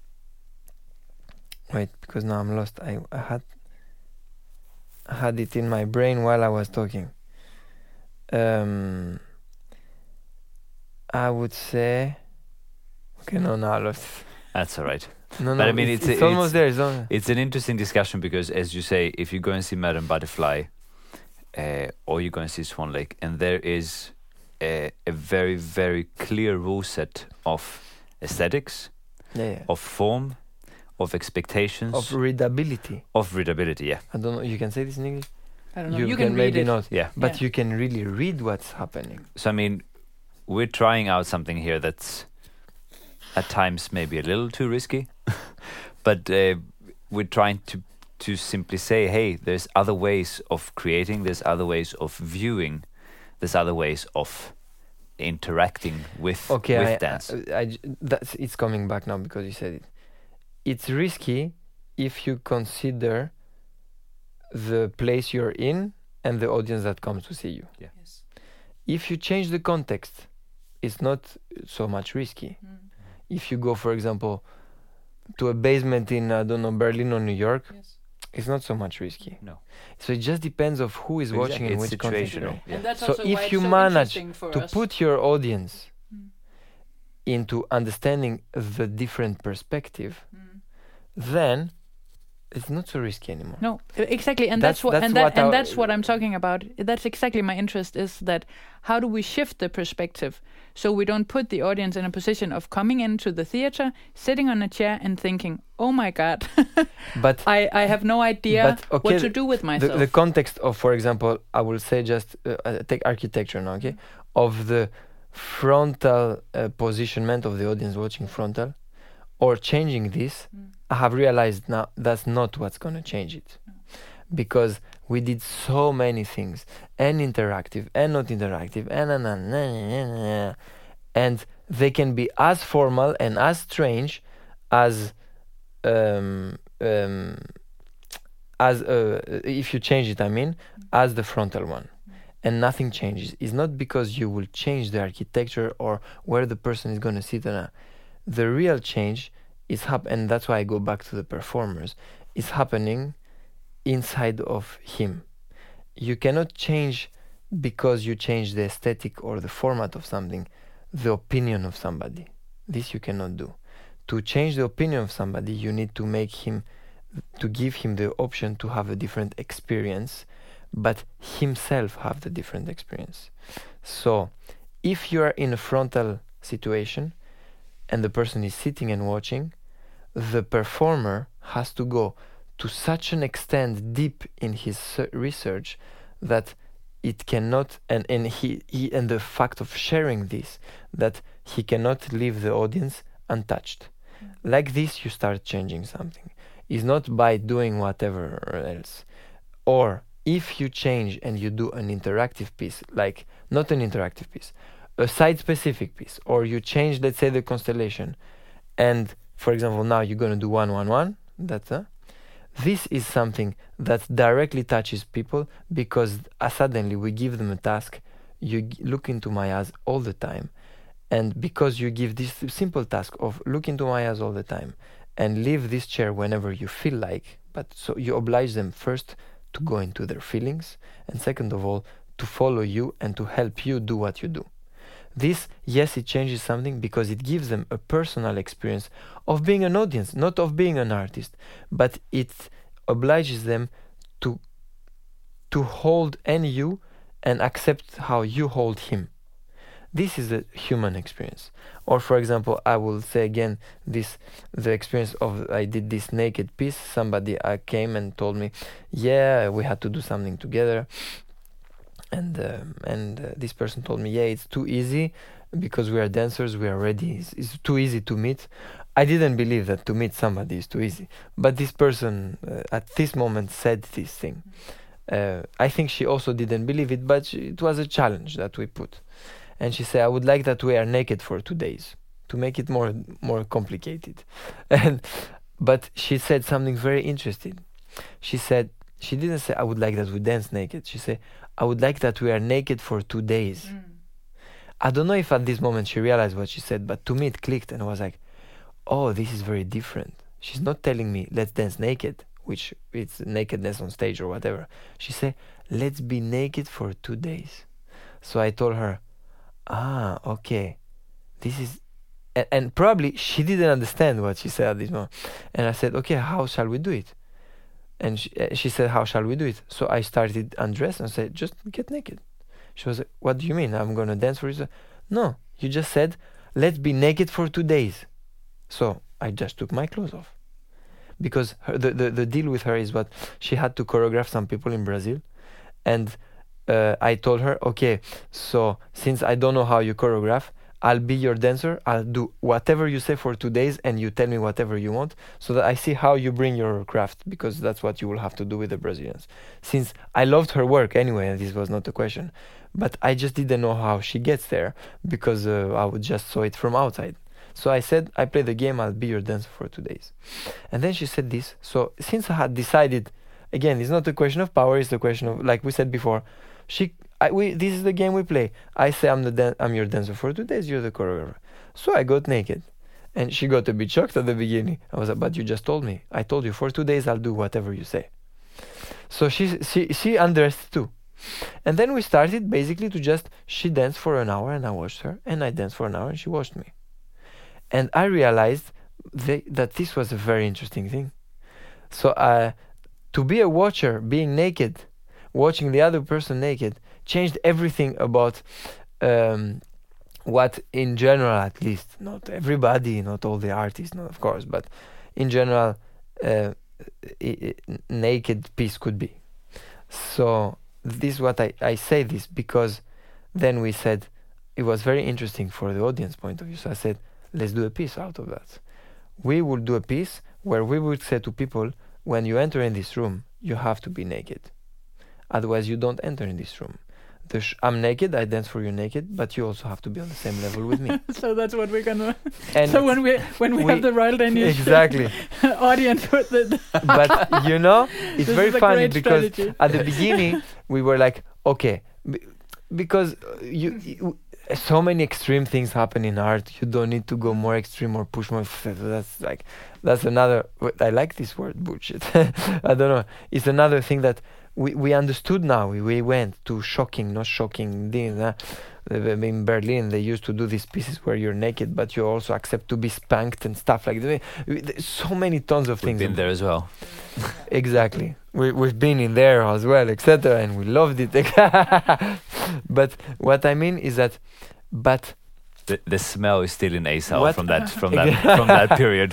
wait, because now I'm lost. I had it in my brain while I was talking. I would say, okay, no, I lost. That's all right. No, but I mean, it's almost there. It's an interesting discussion, because, as you say, if you go and see Madame Butterfly, or you go and see Swan Lake, and there is a very, very clear rule set of aesthetics, of form, of expectations, of readability. Yeah. I don't know. You can say this in English? I don't know. You can maybe read it. Not. Yeah. But you can really read what's happening. So I mean, we're trying out something here that's at times maybe a little too risky, but we're trying to simply say, hey, there's other ways of creating, there's other ways of viewing, there's other ways of interacting with dance. It's coming back now because you said it. It's risky if you consider the place you're in and the audience that comes to see you. Yeah. Yes. If you change the context, it's not so much risky. If you go, for example, to a basement in, I don't know, Berlin or New York, it's not so much risky. No. So it just depends of who is watching and which context. Yeah. And that's so also why if you it's so manage to put your audience into understanding the different perspective, then it's not so risky anymore. No, exactly, and that's what I'm talking about. That's exactly my interest, is that how do we shift the perspective so we don't put the audience in a position of coming into the theater, sitting on a chair and thinking, "Oh my God, but I have no idea what to do with myself." The context of, for example, I will say just take architecture now, okay, of the frontal positionment of the audience watching frontal, or changing this. I have realized now that's not what's going to change it, because we did so many things, and interactive and not interactive, and they can be as formal and as strange as as if you change it, I mean, as the frontal one, and nothing changes. It's not because you will change the architecture or where the person is going to sit on. The real change is and that's why I go back to the performers. Is happening inside of him. You cannot change because you change the aesthetic or the format of something, the opinion of somebody. This you cannot do. To change the opinion of somebody, you need to give him the option to have a different experience, but himself have the different experience. So, if you are in a frontal situation and the person is sitting and watching, the performer has to go to such an extent deep in his research that it cannot, and the fact of sharing this, that he cannot leave the audience untouched. Like this, you start changing something. It's not by doing whatever else. Or if you change and you do an interactive piece, like not an interactive piece, a site-specific piece, or you change, let's say, the constellation, and for example, now you're going to do 1-1-1. This is something that directly touches people because suddenly we give them a task. You look into my eyes all the time. And because you give this simple task of look into my eyes all the time and leave this chair whenever you feel like, but so you oblige them first to go into their feelings, and second of all, to follow you and to help you do what you do. This, yes, it changes something because it gives them a personal experience of being an audience, not of being an artist, but it obliges them to hold you and accept how you hold him. This is a human experience. Or for example, I will say again the experience of I did this naked piece. Somebody came and told me, yeah, we had to do something together. And this person told me, yeah, it's too easy because we are dancers, we are ready. It's too easy to meet. I didn't believe that to meet somebody is too easy. But this person at this moment said this thing. I think she also didn't believe it, but it was a challenge that we put. And she said, I would like that we are naked for 2 days to make it more complicated. But she said something very interesting. She said, she didn't say, I would like that we dance naked. She said, I would like that we are naked for 2 days. I don't know if at this moment she realized what she said, but to me it clicked and I was like, oh, this is very different. She's not telling me, let's dance naked, which it's nakedness on stage or whatever. She said, let's be naked for 2 days. So I told her, okay, this is, and probably she didn't understand what she said at this moment. And I said, okay, how shall we do it? And she said, how shall we do it? So I started undress and said, just get naked. She was like, what do you mean? I'm going to dance for you? No, you just said, let's be naked for 2 days. So I just took my clothes off. Because the deal with her is what she had to choreograph some people in Brazil. And I told her, okay, so since I don't know how you choreograph, I'll be your dancer. I'll do whatever you say for 2 days and you tell me whatever you want so that I see how you bring your craft, because that's what you will have to do with the Brazilians. Since I loved her work anyway, and this was not a question, but I just didn't know how she gets there because I would just saw it from outside. So I said, I play the game, I'll be your dancer for 2 days. And then she said this. So since I had decided, again, it's not a question of power, it's a question of, like we said before, this is the game we play. I say I'm your dancer for 2 days, you're the choreographer. So I got naked. And she got a bit shocked at the beginning. I was like, but you just told me. I told you for 2 days I'll do whatever you say. So she undressed too. And then we started basically she danced for an hour and I watched her, and I danced for an hour and she watched me. And I realized that this was a very interesting thing. So to be a watcher, being naked, watching the other person naked, changed everything about what in general, at least, not everybody, not all the artists, not of course, but in general, naked piece could be. So this is what I say this because then we said it was very interesting for the audience point of view. So I said, let's do a piece out of that. We will do a piece where we would say to people, when you enter in this room, you have to be naked. Otherwise, you don't enter in this room. I'm naked, I dance for you naked, but you also have to be on the same level with me. So that's what we're gonna. And So when we have the Royal Danish exactly, audience with the. but you know, it's This very is a funny great because strategy. at the beginning we were like, okay, because you so many extreme things happen in art. You don't need to go more extreme or push more. That's another. I like this word, bullshit. I don't know. It's another thing that we understood now. We went to shocking, not shocking things. In Berlin, they used to do these pieces where you're naked, but you also accept to be spanked and stuff like that. So many tons of We've things. been there as well. Exactly. We've been in there as well, etc., and we loved it. But what I mean is that, but The smell is still in Asahl What? from that period.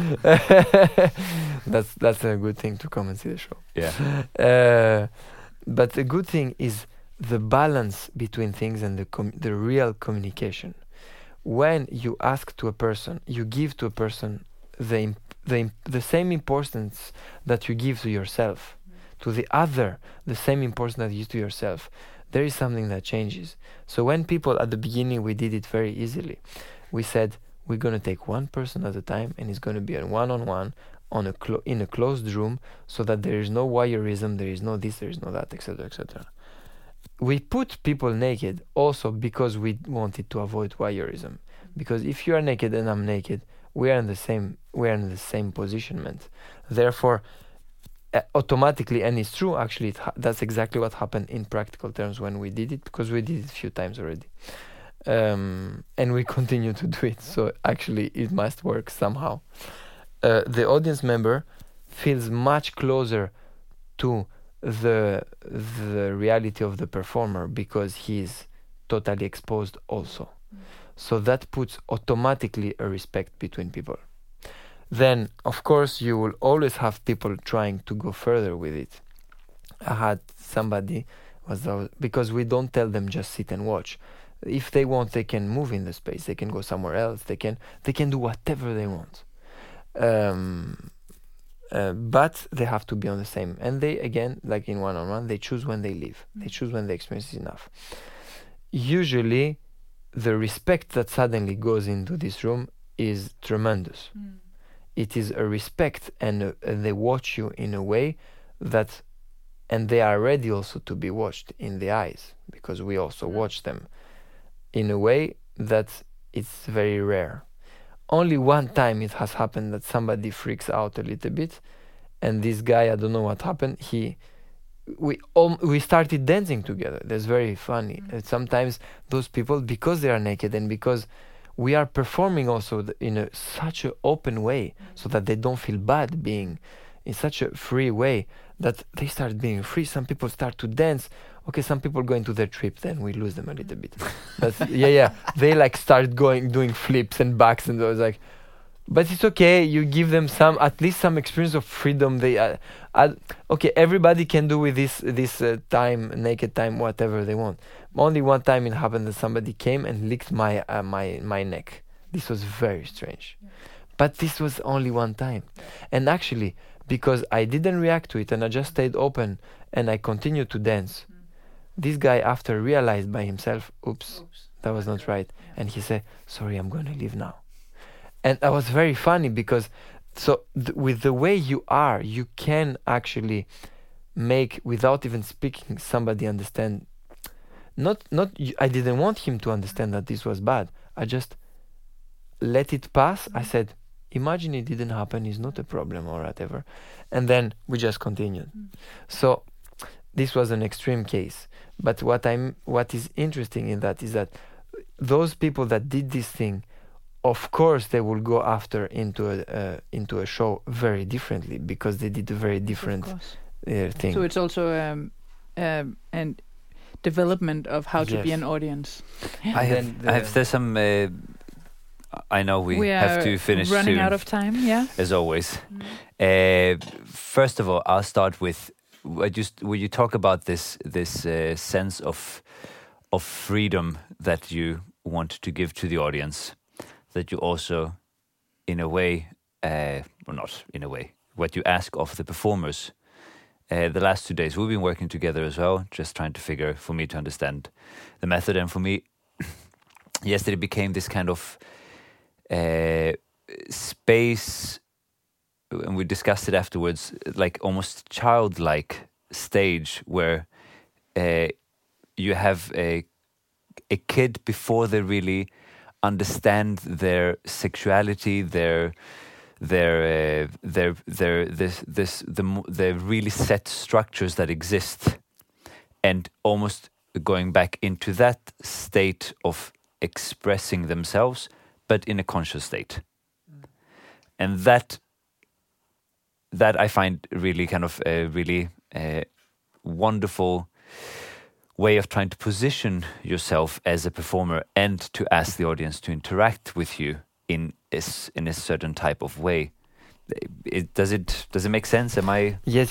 that's a good thing to come and see the show. Yeah. But the good thing is the balance between things and the real communication. When you ask to a person, you give to a person the same importance that you give to yourself, to the other, the same importance that you give to yourself. There is something that changes. So when people at the beginning, we did it very easily. We said we're going to take one person at a time, and it's going to be a one-on-one in a closed room, so that there is no voyeurism, there is no this, there is no that, etc., etc. We put people naked also because we wanted to avoid voyeurism. Because if you are naked and I'm naked, we are in the same positionment. Therefore, automatically, and it's true actually, that's exactly what happened in practical terms when we did it, because we did it a few times already, and we continue to do it, so actually it must work somehow. The audience member feels much closer to the reality of the performer because he's totally exposed also. So that puts automatically a respect between people. Then, of course, you will always have people trying to go further with it. I had somebody because we don't tell them just sit and watch. If they want, they can move in the space. They can go somewhere else. They can do whatever they want. But they have to be on the same. And they, again, like in one-on-one, they choose when they leave. They choose when the experience is enough. Usually, the respect that suddenly goes into this room is tremendous. It is a respect, and they watch you in a way that, and they are ready also to be watched in the eyes, because we also watch them in a way that it's very rare. Only one time it has happened that somebody freaks out a little bit, and this guy, I don't know what happened, we started dancing together. That's very funny. Sometimes those people, because they are naked and because we are performing also in such an open way, so that they don't feel bad being in such a free way, that they start being free. Some people start to dance. Okay, some people go into their trip, then we lose them a little bit. That's, yeah. They like start doing flips and backs, and I was like, but it's okay. You give them at least some experience of freedom. Okay, everybody can do with this naked time, whatever they want. Only one time it happened that somebody came and licked my neck. This was very strange. But this was only one time. And actually, because I didn't react to it and I just stayed open and I continued to dance, this guy after realized by himself, oops, that was not right. And he said, sorry, I'm going to leave now. And that was very funny because with the way you are, you can actually make, without even speaking, somebody understand. I didn't want him to understand that this was bad. I just let it pass. I said, imagine it didn't happen, it's not a problem or whatever. And then we just continued. So this was an extreme case. But what is interesting in that is that those people that did this thing, of course, they will go after into a show very differently because they did a very different thing. So it's also an development of how to be an audience. There's some. I know we have to finish running soon, out of time. Yeah, as always. First of all, I'll start with. Will you talk about this sense of freedom that you want to give to the audience, that you also, in a way, well, not in a way, what you ask of the performers, the last 2 days we've been working together as well, just trying to figure, for me to understand the method. And for me, yesterday became this kind of space, and we discussed it afterwards, like almost childlike stage where you have a kid before they really understand their sexuality, the really set structures that exist, and almost going back into that state of expressing themselves, but in a conscious state. And that I find really kind of a really wonderful way of trying to position yourself as a performer and to ask the audience to interact with you in a certain type of way. Does it make sense? Am I? Yes.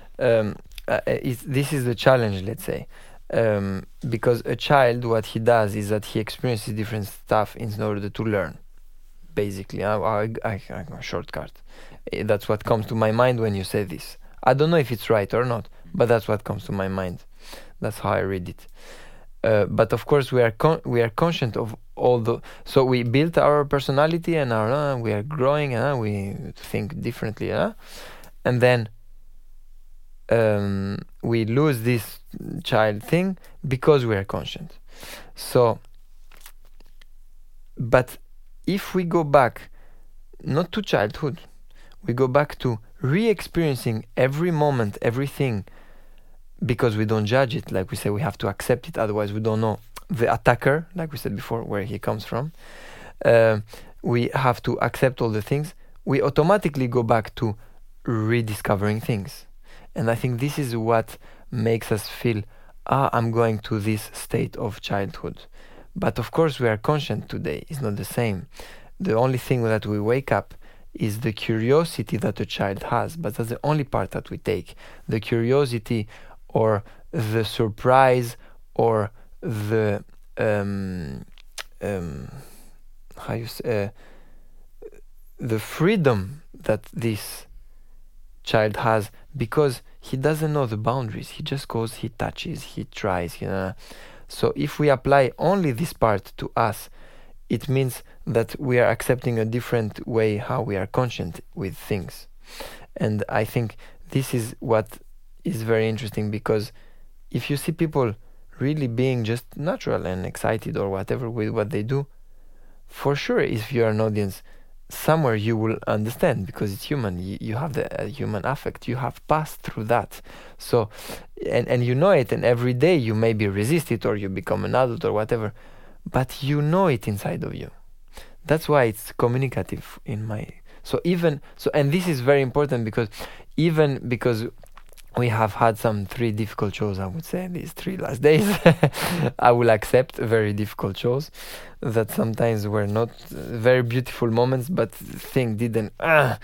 This is the challenge, let's say, because a child, what he does is that he experiences different stuff in order to learn. Basically, I shortcut. That's what comes to my mind when you say this. I don't know if it's right or not, but that's what comes to my mind. That's how I read it. But of course, we are conscious of all the. So we built our personality, and we are growing, we think differently, and then we lose this child thing because we are conscious. So, but if we go back, not to childhood, we go back to re-experiencing every moment, everything. Because we don't judge it, like we say, we have to accept it, otherwise we don't know the attacker, like we said before, where he comes from. We have to accept all the things. We automatically go back to rediscovering things. And I think this is what makes us feel, I'm going to this state of childhood. But of course we are conscious today, it's not the same. The only thing that we wake up is the curiosity that a child has, but that's the only part that we take. The curiosity or the surprise or the the freedom that this child has, because he doesn't know the boundaries. He just goes, he touches, he tries. So if we apply only this part to us, it means that we are accepting a different way how we are conscious with things. And I think this is what is very interesting, because if you see people really being just natural and excited or whatever with what they do, for sure, if you are an audience, somewhere you will understand, because it's human. You have the human affect. You have passed through that. So, and you know it, and every day you maybe resist it or you become an adult or whatever, but you know it inside of you. That's why it's communicative in my... and this is very important, because we have had some 3 difficult shows, I would say, these 3 last days. I will accept very difficult shows that sometimes were not very beautiful moments, but thing didn't,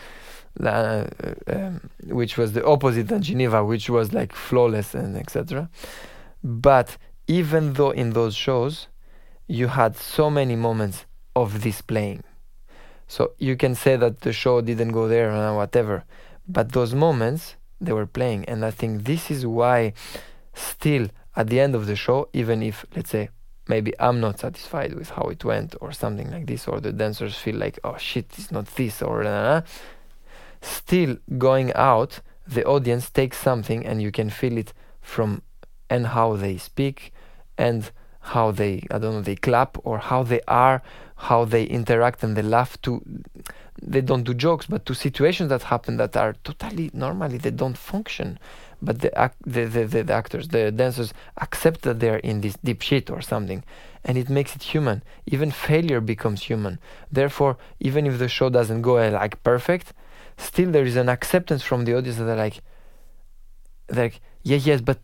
which was the opposite than Geneva, which was like flawless and etc. But even though in those shows, you had so many moments of this playing. So you can say that the show didn't go there or whatever, but those moments, they were playing. And I think this is why still at the end of the show, even if, let's say, maybe I'm not satisfied with how it went or something like this, or the dancers feel like, oh shit, it's not this, or still going out, the audience takes something, and you can feel it from and how they speak and how they, they clap, or how they are, how they interact and they laugh to, they don't do jokes, but to situations that happen that are totally normally, they don't function. But the actors, the dancers accept that they're in this deep shit or something, and it makes it human. Even failure becomes human. Therefore, even if the show doesn't go like perfect, still there is an acceptance from the audience that they're like yes, but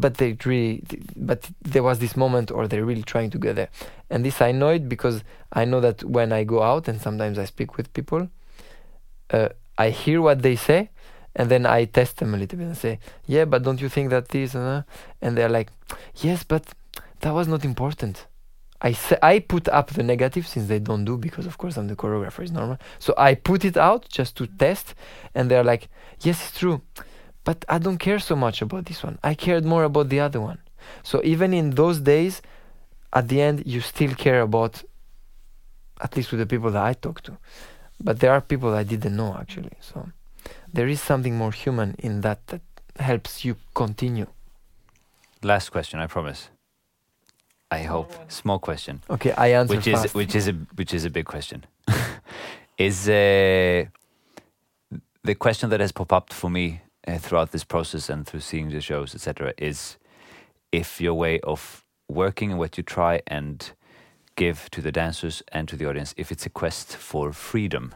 there was this moment, or they're really trying to get there. And this I know it because I know that when I go out and sometimes I speak with people, I hear what they say, and then I test them a little bit and say, yeah, but don't you think that this, and they're like, yes, but that was not important. I put up the negative, since they don't do, because of course I'm the choreographer, it's normal. So I put it out just to test, and they're like, yes, it's true, but I don't care so much about this one. I cared more about the other one. So even in those days, at the end, you still care about, at least with the people that I talk to. But there are people I didn't know, actually. So there is something more human in that helps you continue. Last question, I promise. I hope. Small question. Okay, I answer fast. Which is a big question. Is the question that has popped up for me throughout this process and through seeing the shows, etc., is if your way of working and what you try and give to the dancers and to the audience, if it's a quest for freedom.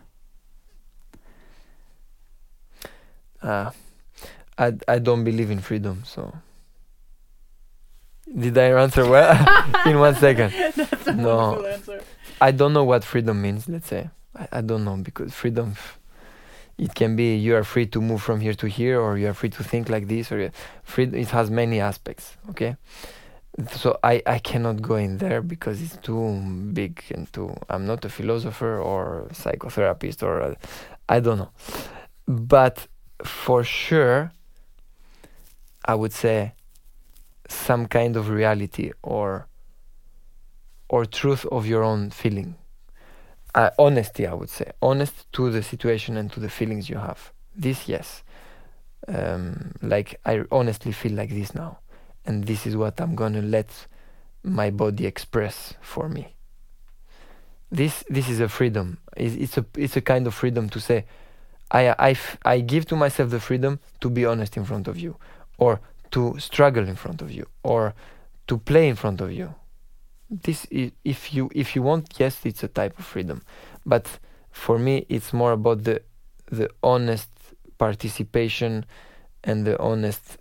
I don't believe in freedom, so. Did I answer well? In 1 second. That's a wonderful answer. I don't know what freedom means, let's say. I don't know, because freedom, it can be you are free to move from here to here, or you are free to think like this, or it has many aspects, okay? So I cannot go in there because it's too big and I'm not a philosopher or a psychotherapist or I don't know. But for sure, I would say some kind of reality or truth of your own feeling. Honesty, I would say. Honest to the situation and to the feelings you have. This, yes. Like, I honestly feel like this now. And this is what I'm going to let my body express for me. This is a freedom. It's a kind of freedom to say, I give to myself the freedom to be honest in front of you, or to struggle in front of you, or to play in front of you. This is, if you want, yes, it's a type of freedom. But for me, it's more about the honest participation and the honest,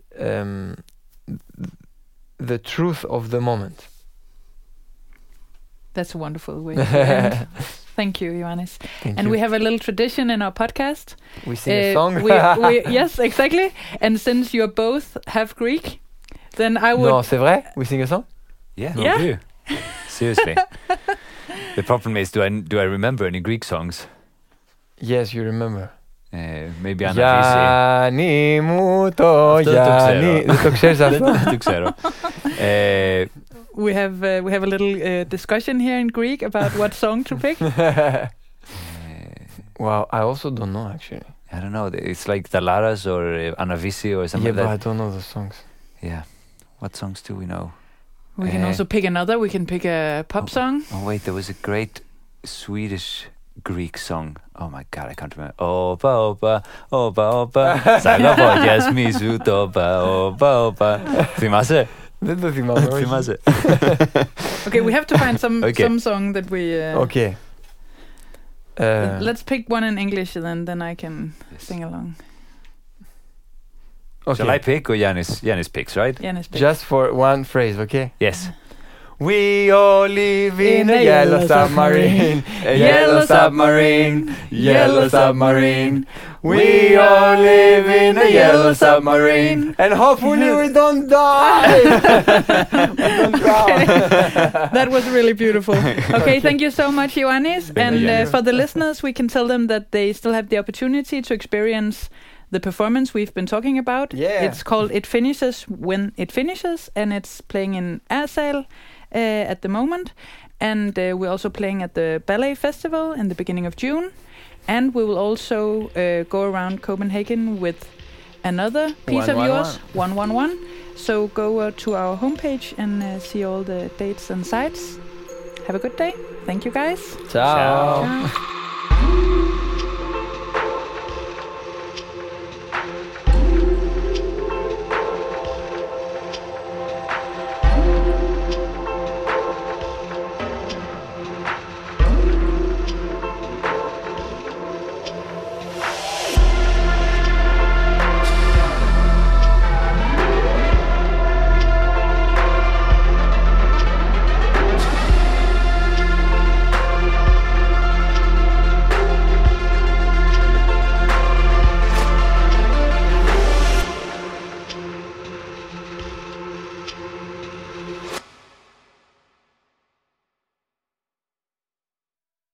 the truth of the moment. That's a wonderful way to end. Thank you, Ioannis. Thank and you. we have a little tradition in our podcast. We sing a song. Yes, exactly. And since you both have Greek, then I would... No, c'est vrai? We sing a song? Yeah, Yeah. we do. Seriously. The problem is, do I remember any Greek songs? Yes, you remember. Maybe Anavisi. Γιάννη μου το Γιάννη. Δεν το ξέρεις αυτό? Δεν το ξέρω. We have a little discussion here in Greek about what song to pick. Wow, I also don't know, actually. I don't know. It's like Dalaras or Anavisi or something Yeah, but I like that. don't know the songs. Yeah. What songs do we know? We can also pick another. We can pick a pop song. Oh wait, there was a great Swedish Greek song. Oh my god, I can't remember. Opa, opa, opa, opa. Sagapodias misu topa, opa, opa. Θυμάσαι? Δεν το θυμάμαι. Θυμάσαι? Okay, we have to find some song that we... Okay. Let's pick one in English, then I can sing along. Okay. Shall I pick or Yannis picks, right? Yannis picks. Just for one phrase, okay? Yes. We all live in a yellow submarine, a yellow submarine, yellow submarine. We all live in a yellow submarine, and hopefully we don't die. That was really beautiful. Okay, thank you so much, Ioannis. And for the listeners, we can tell them that they still have the opportunity to experience the performance we've been talking about. Yeah. It's called It Finishes When It Finishes, and it's playing in Arsal at the moment. And we're also playing at the Ballet Festival in the beginning of June. And we will also go around Copenhagen with another piece of yours, 111. So go to our homepage and see all the dates and sites. Have a good day. Thank you, guys. Ciao. Ciao.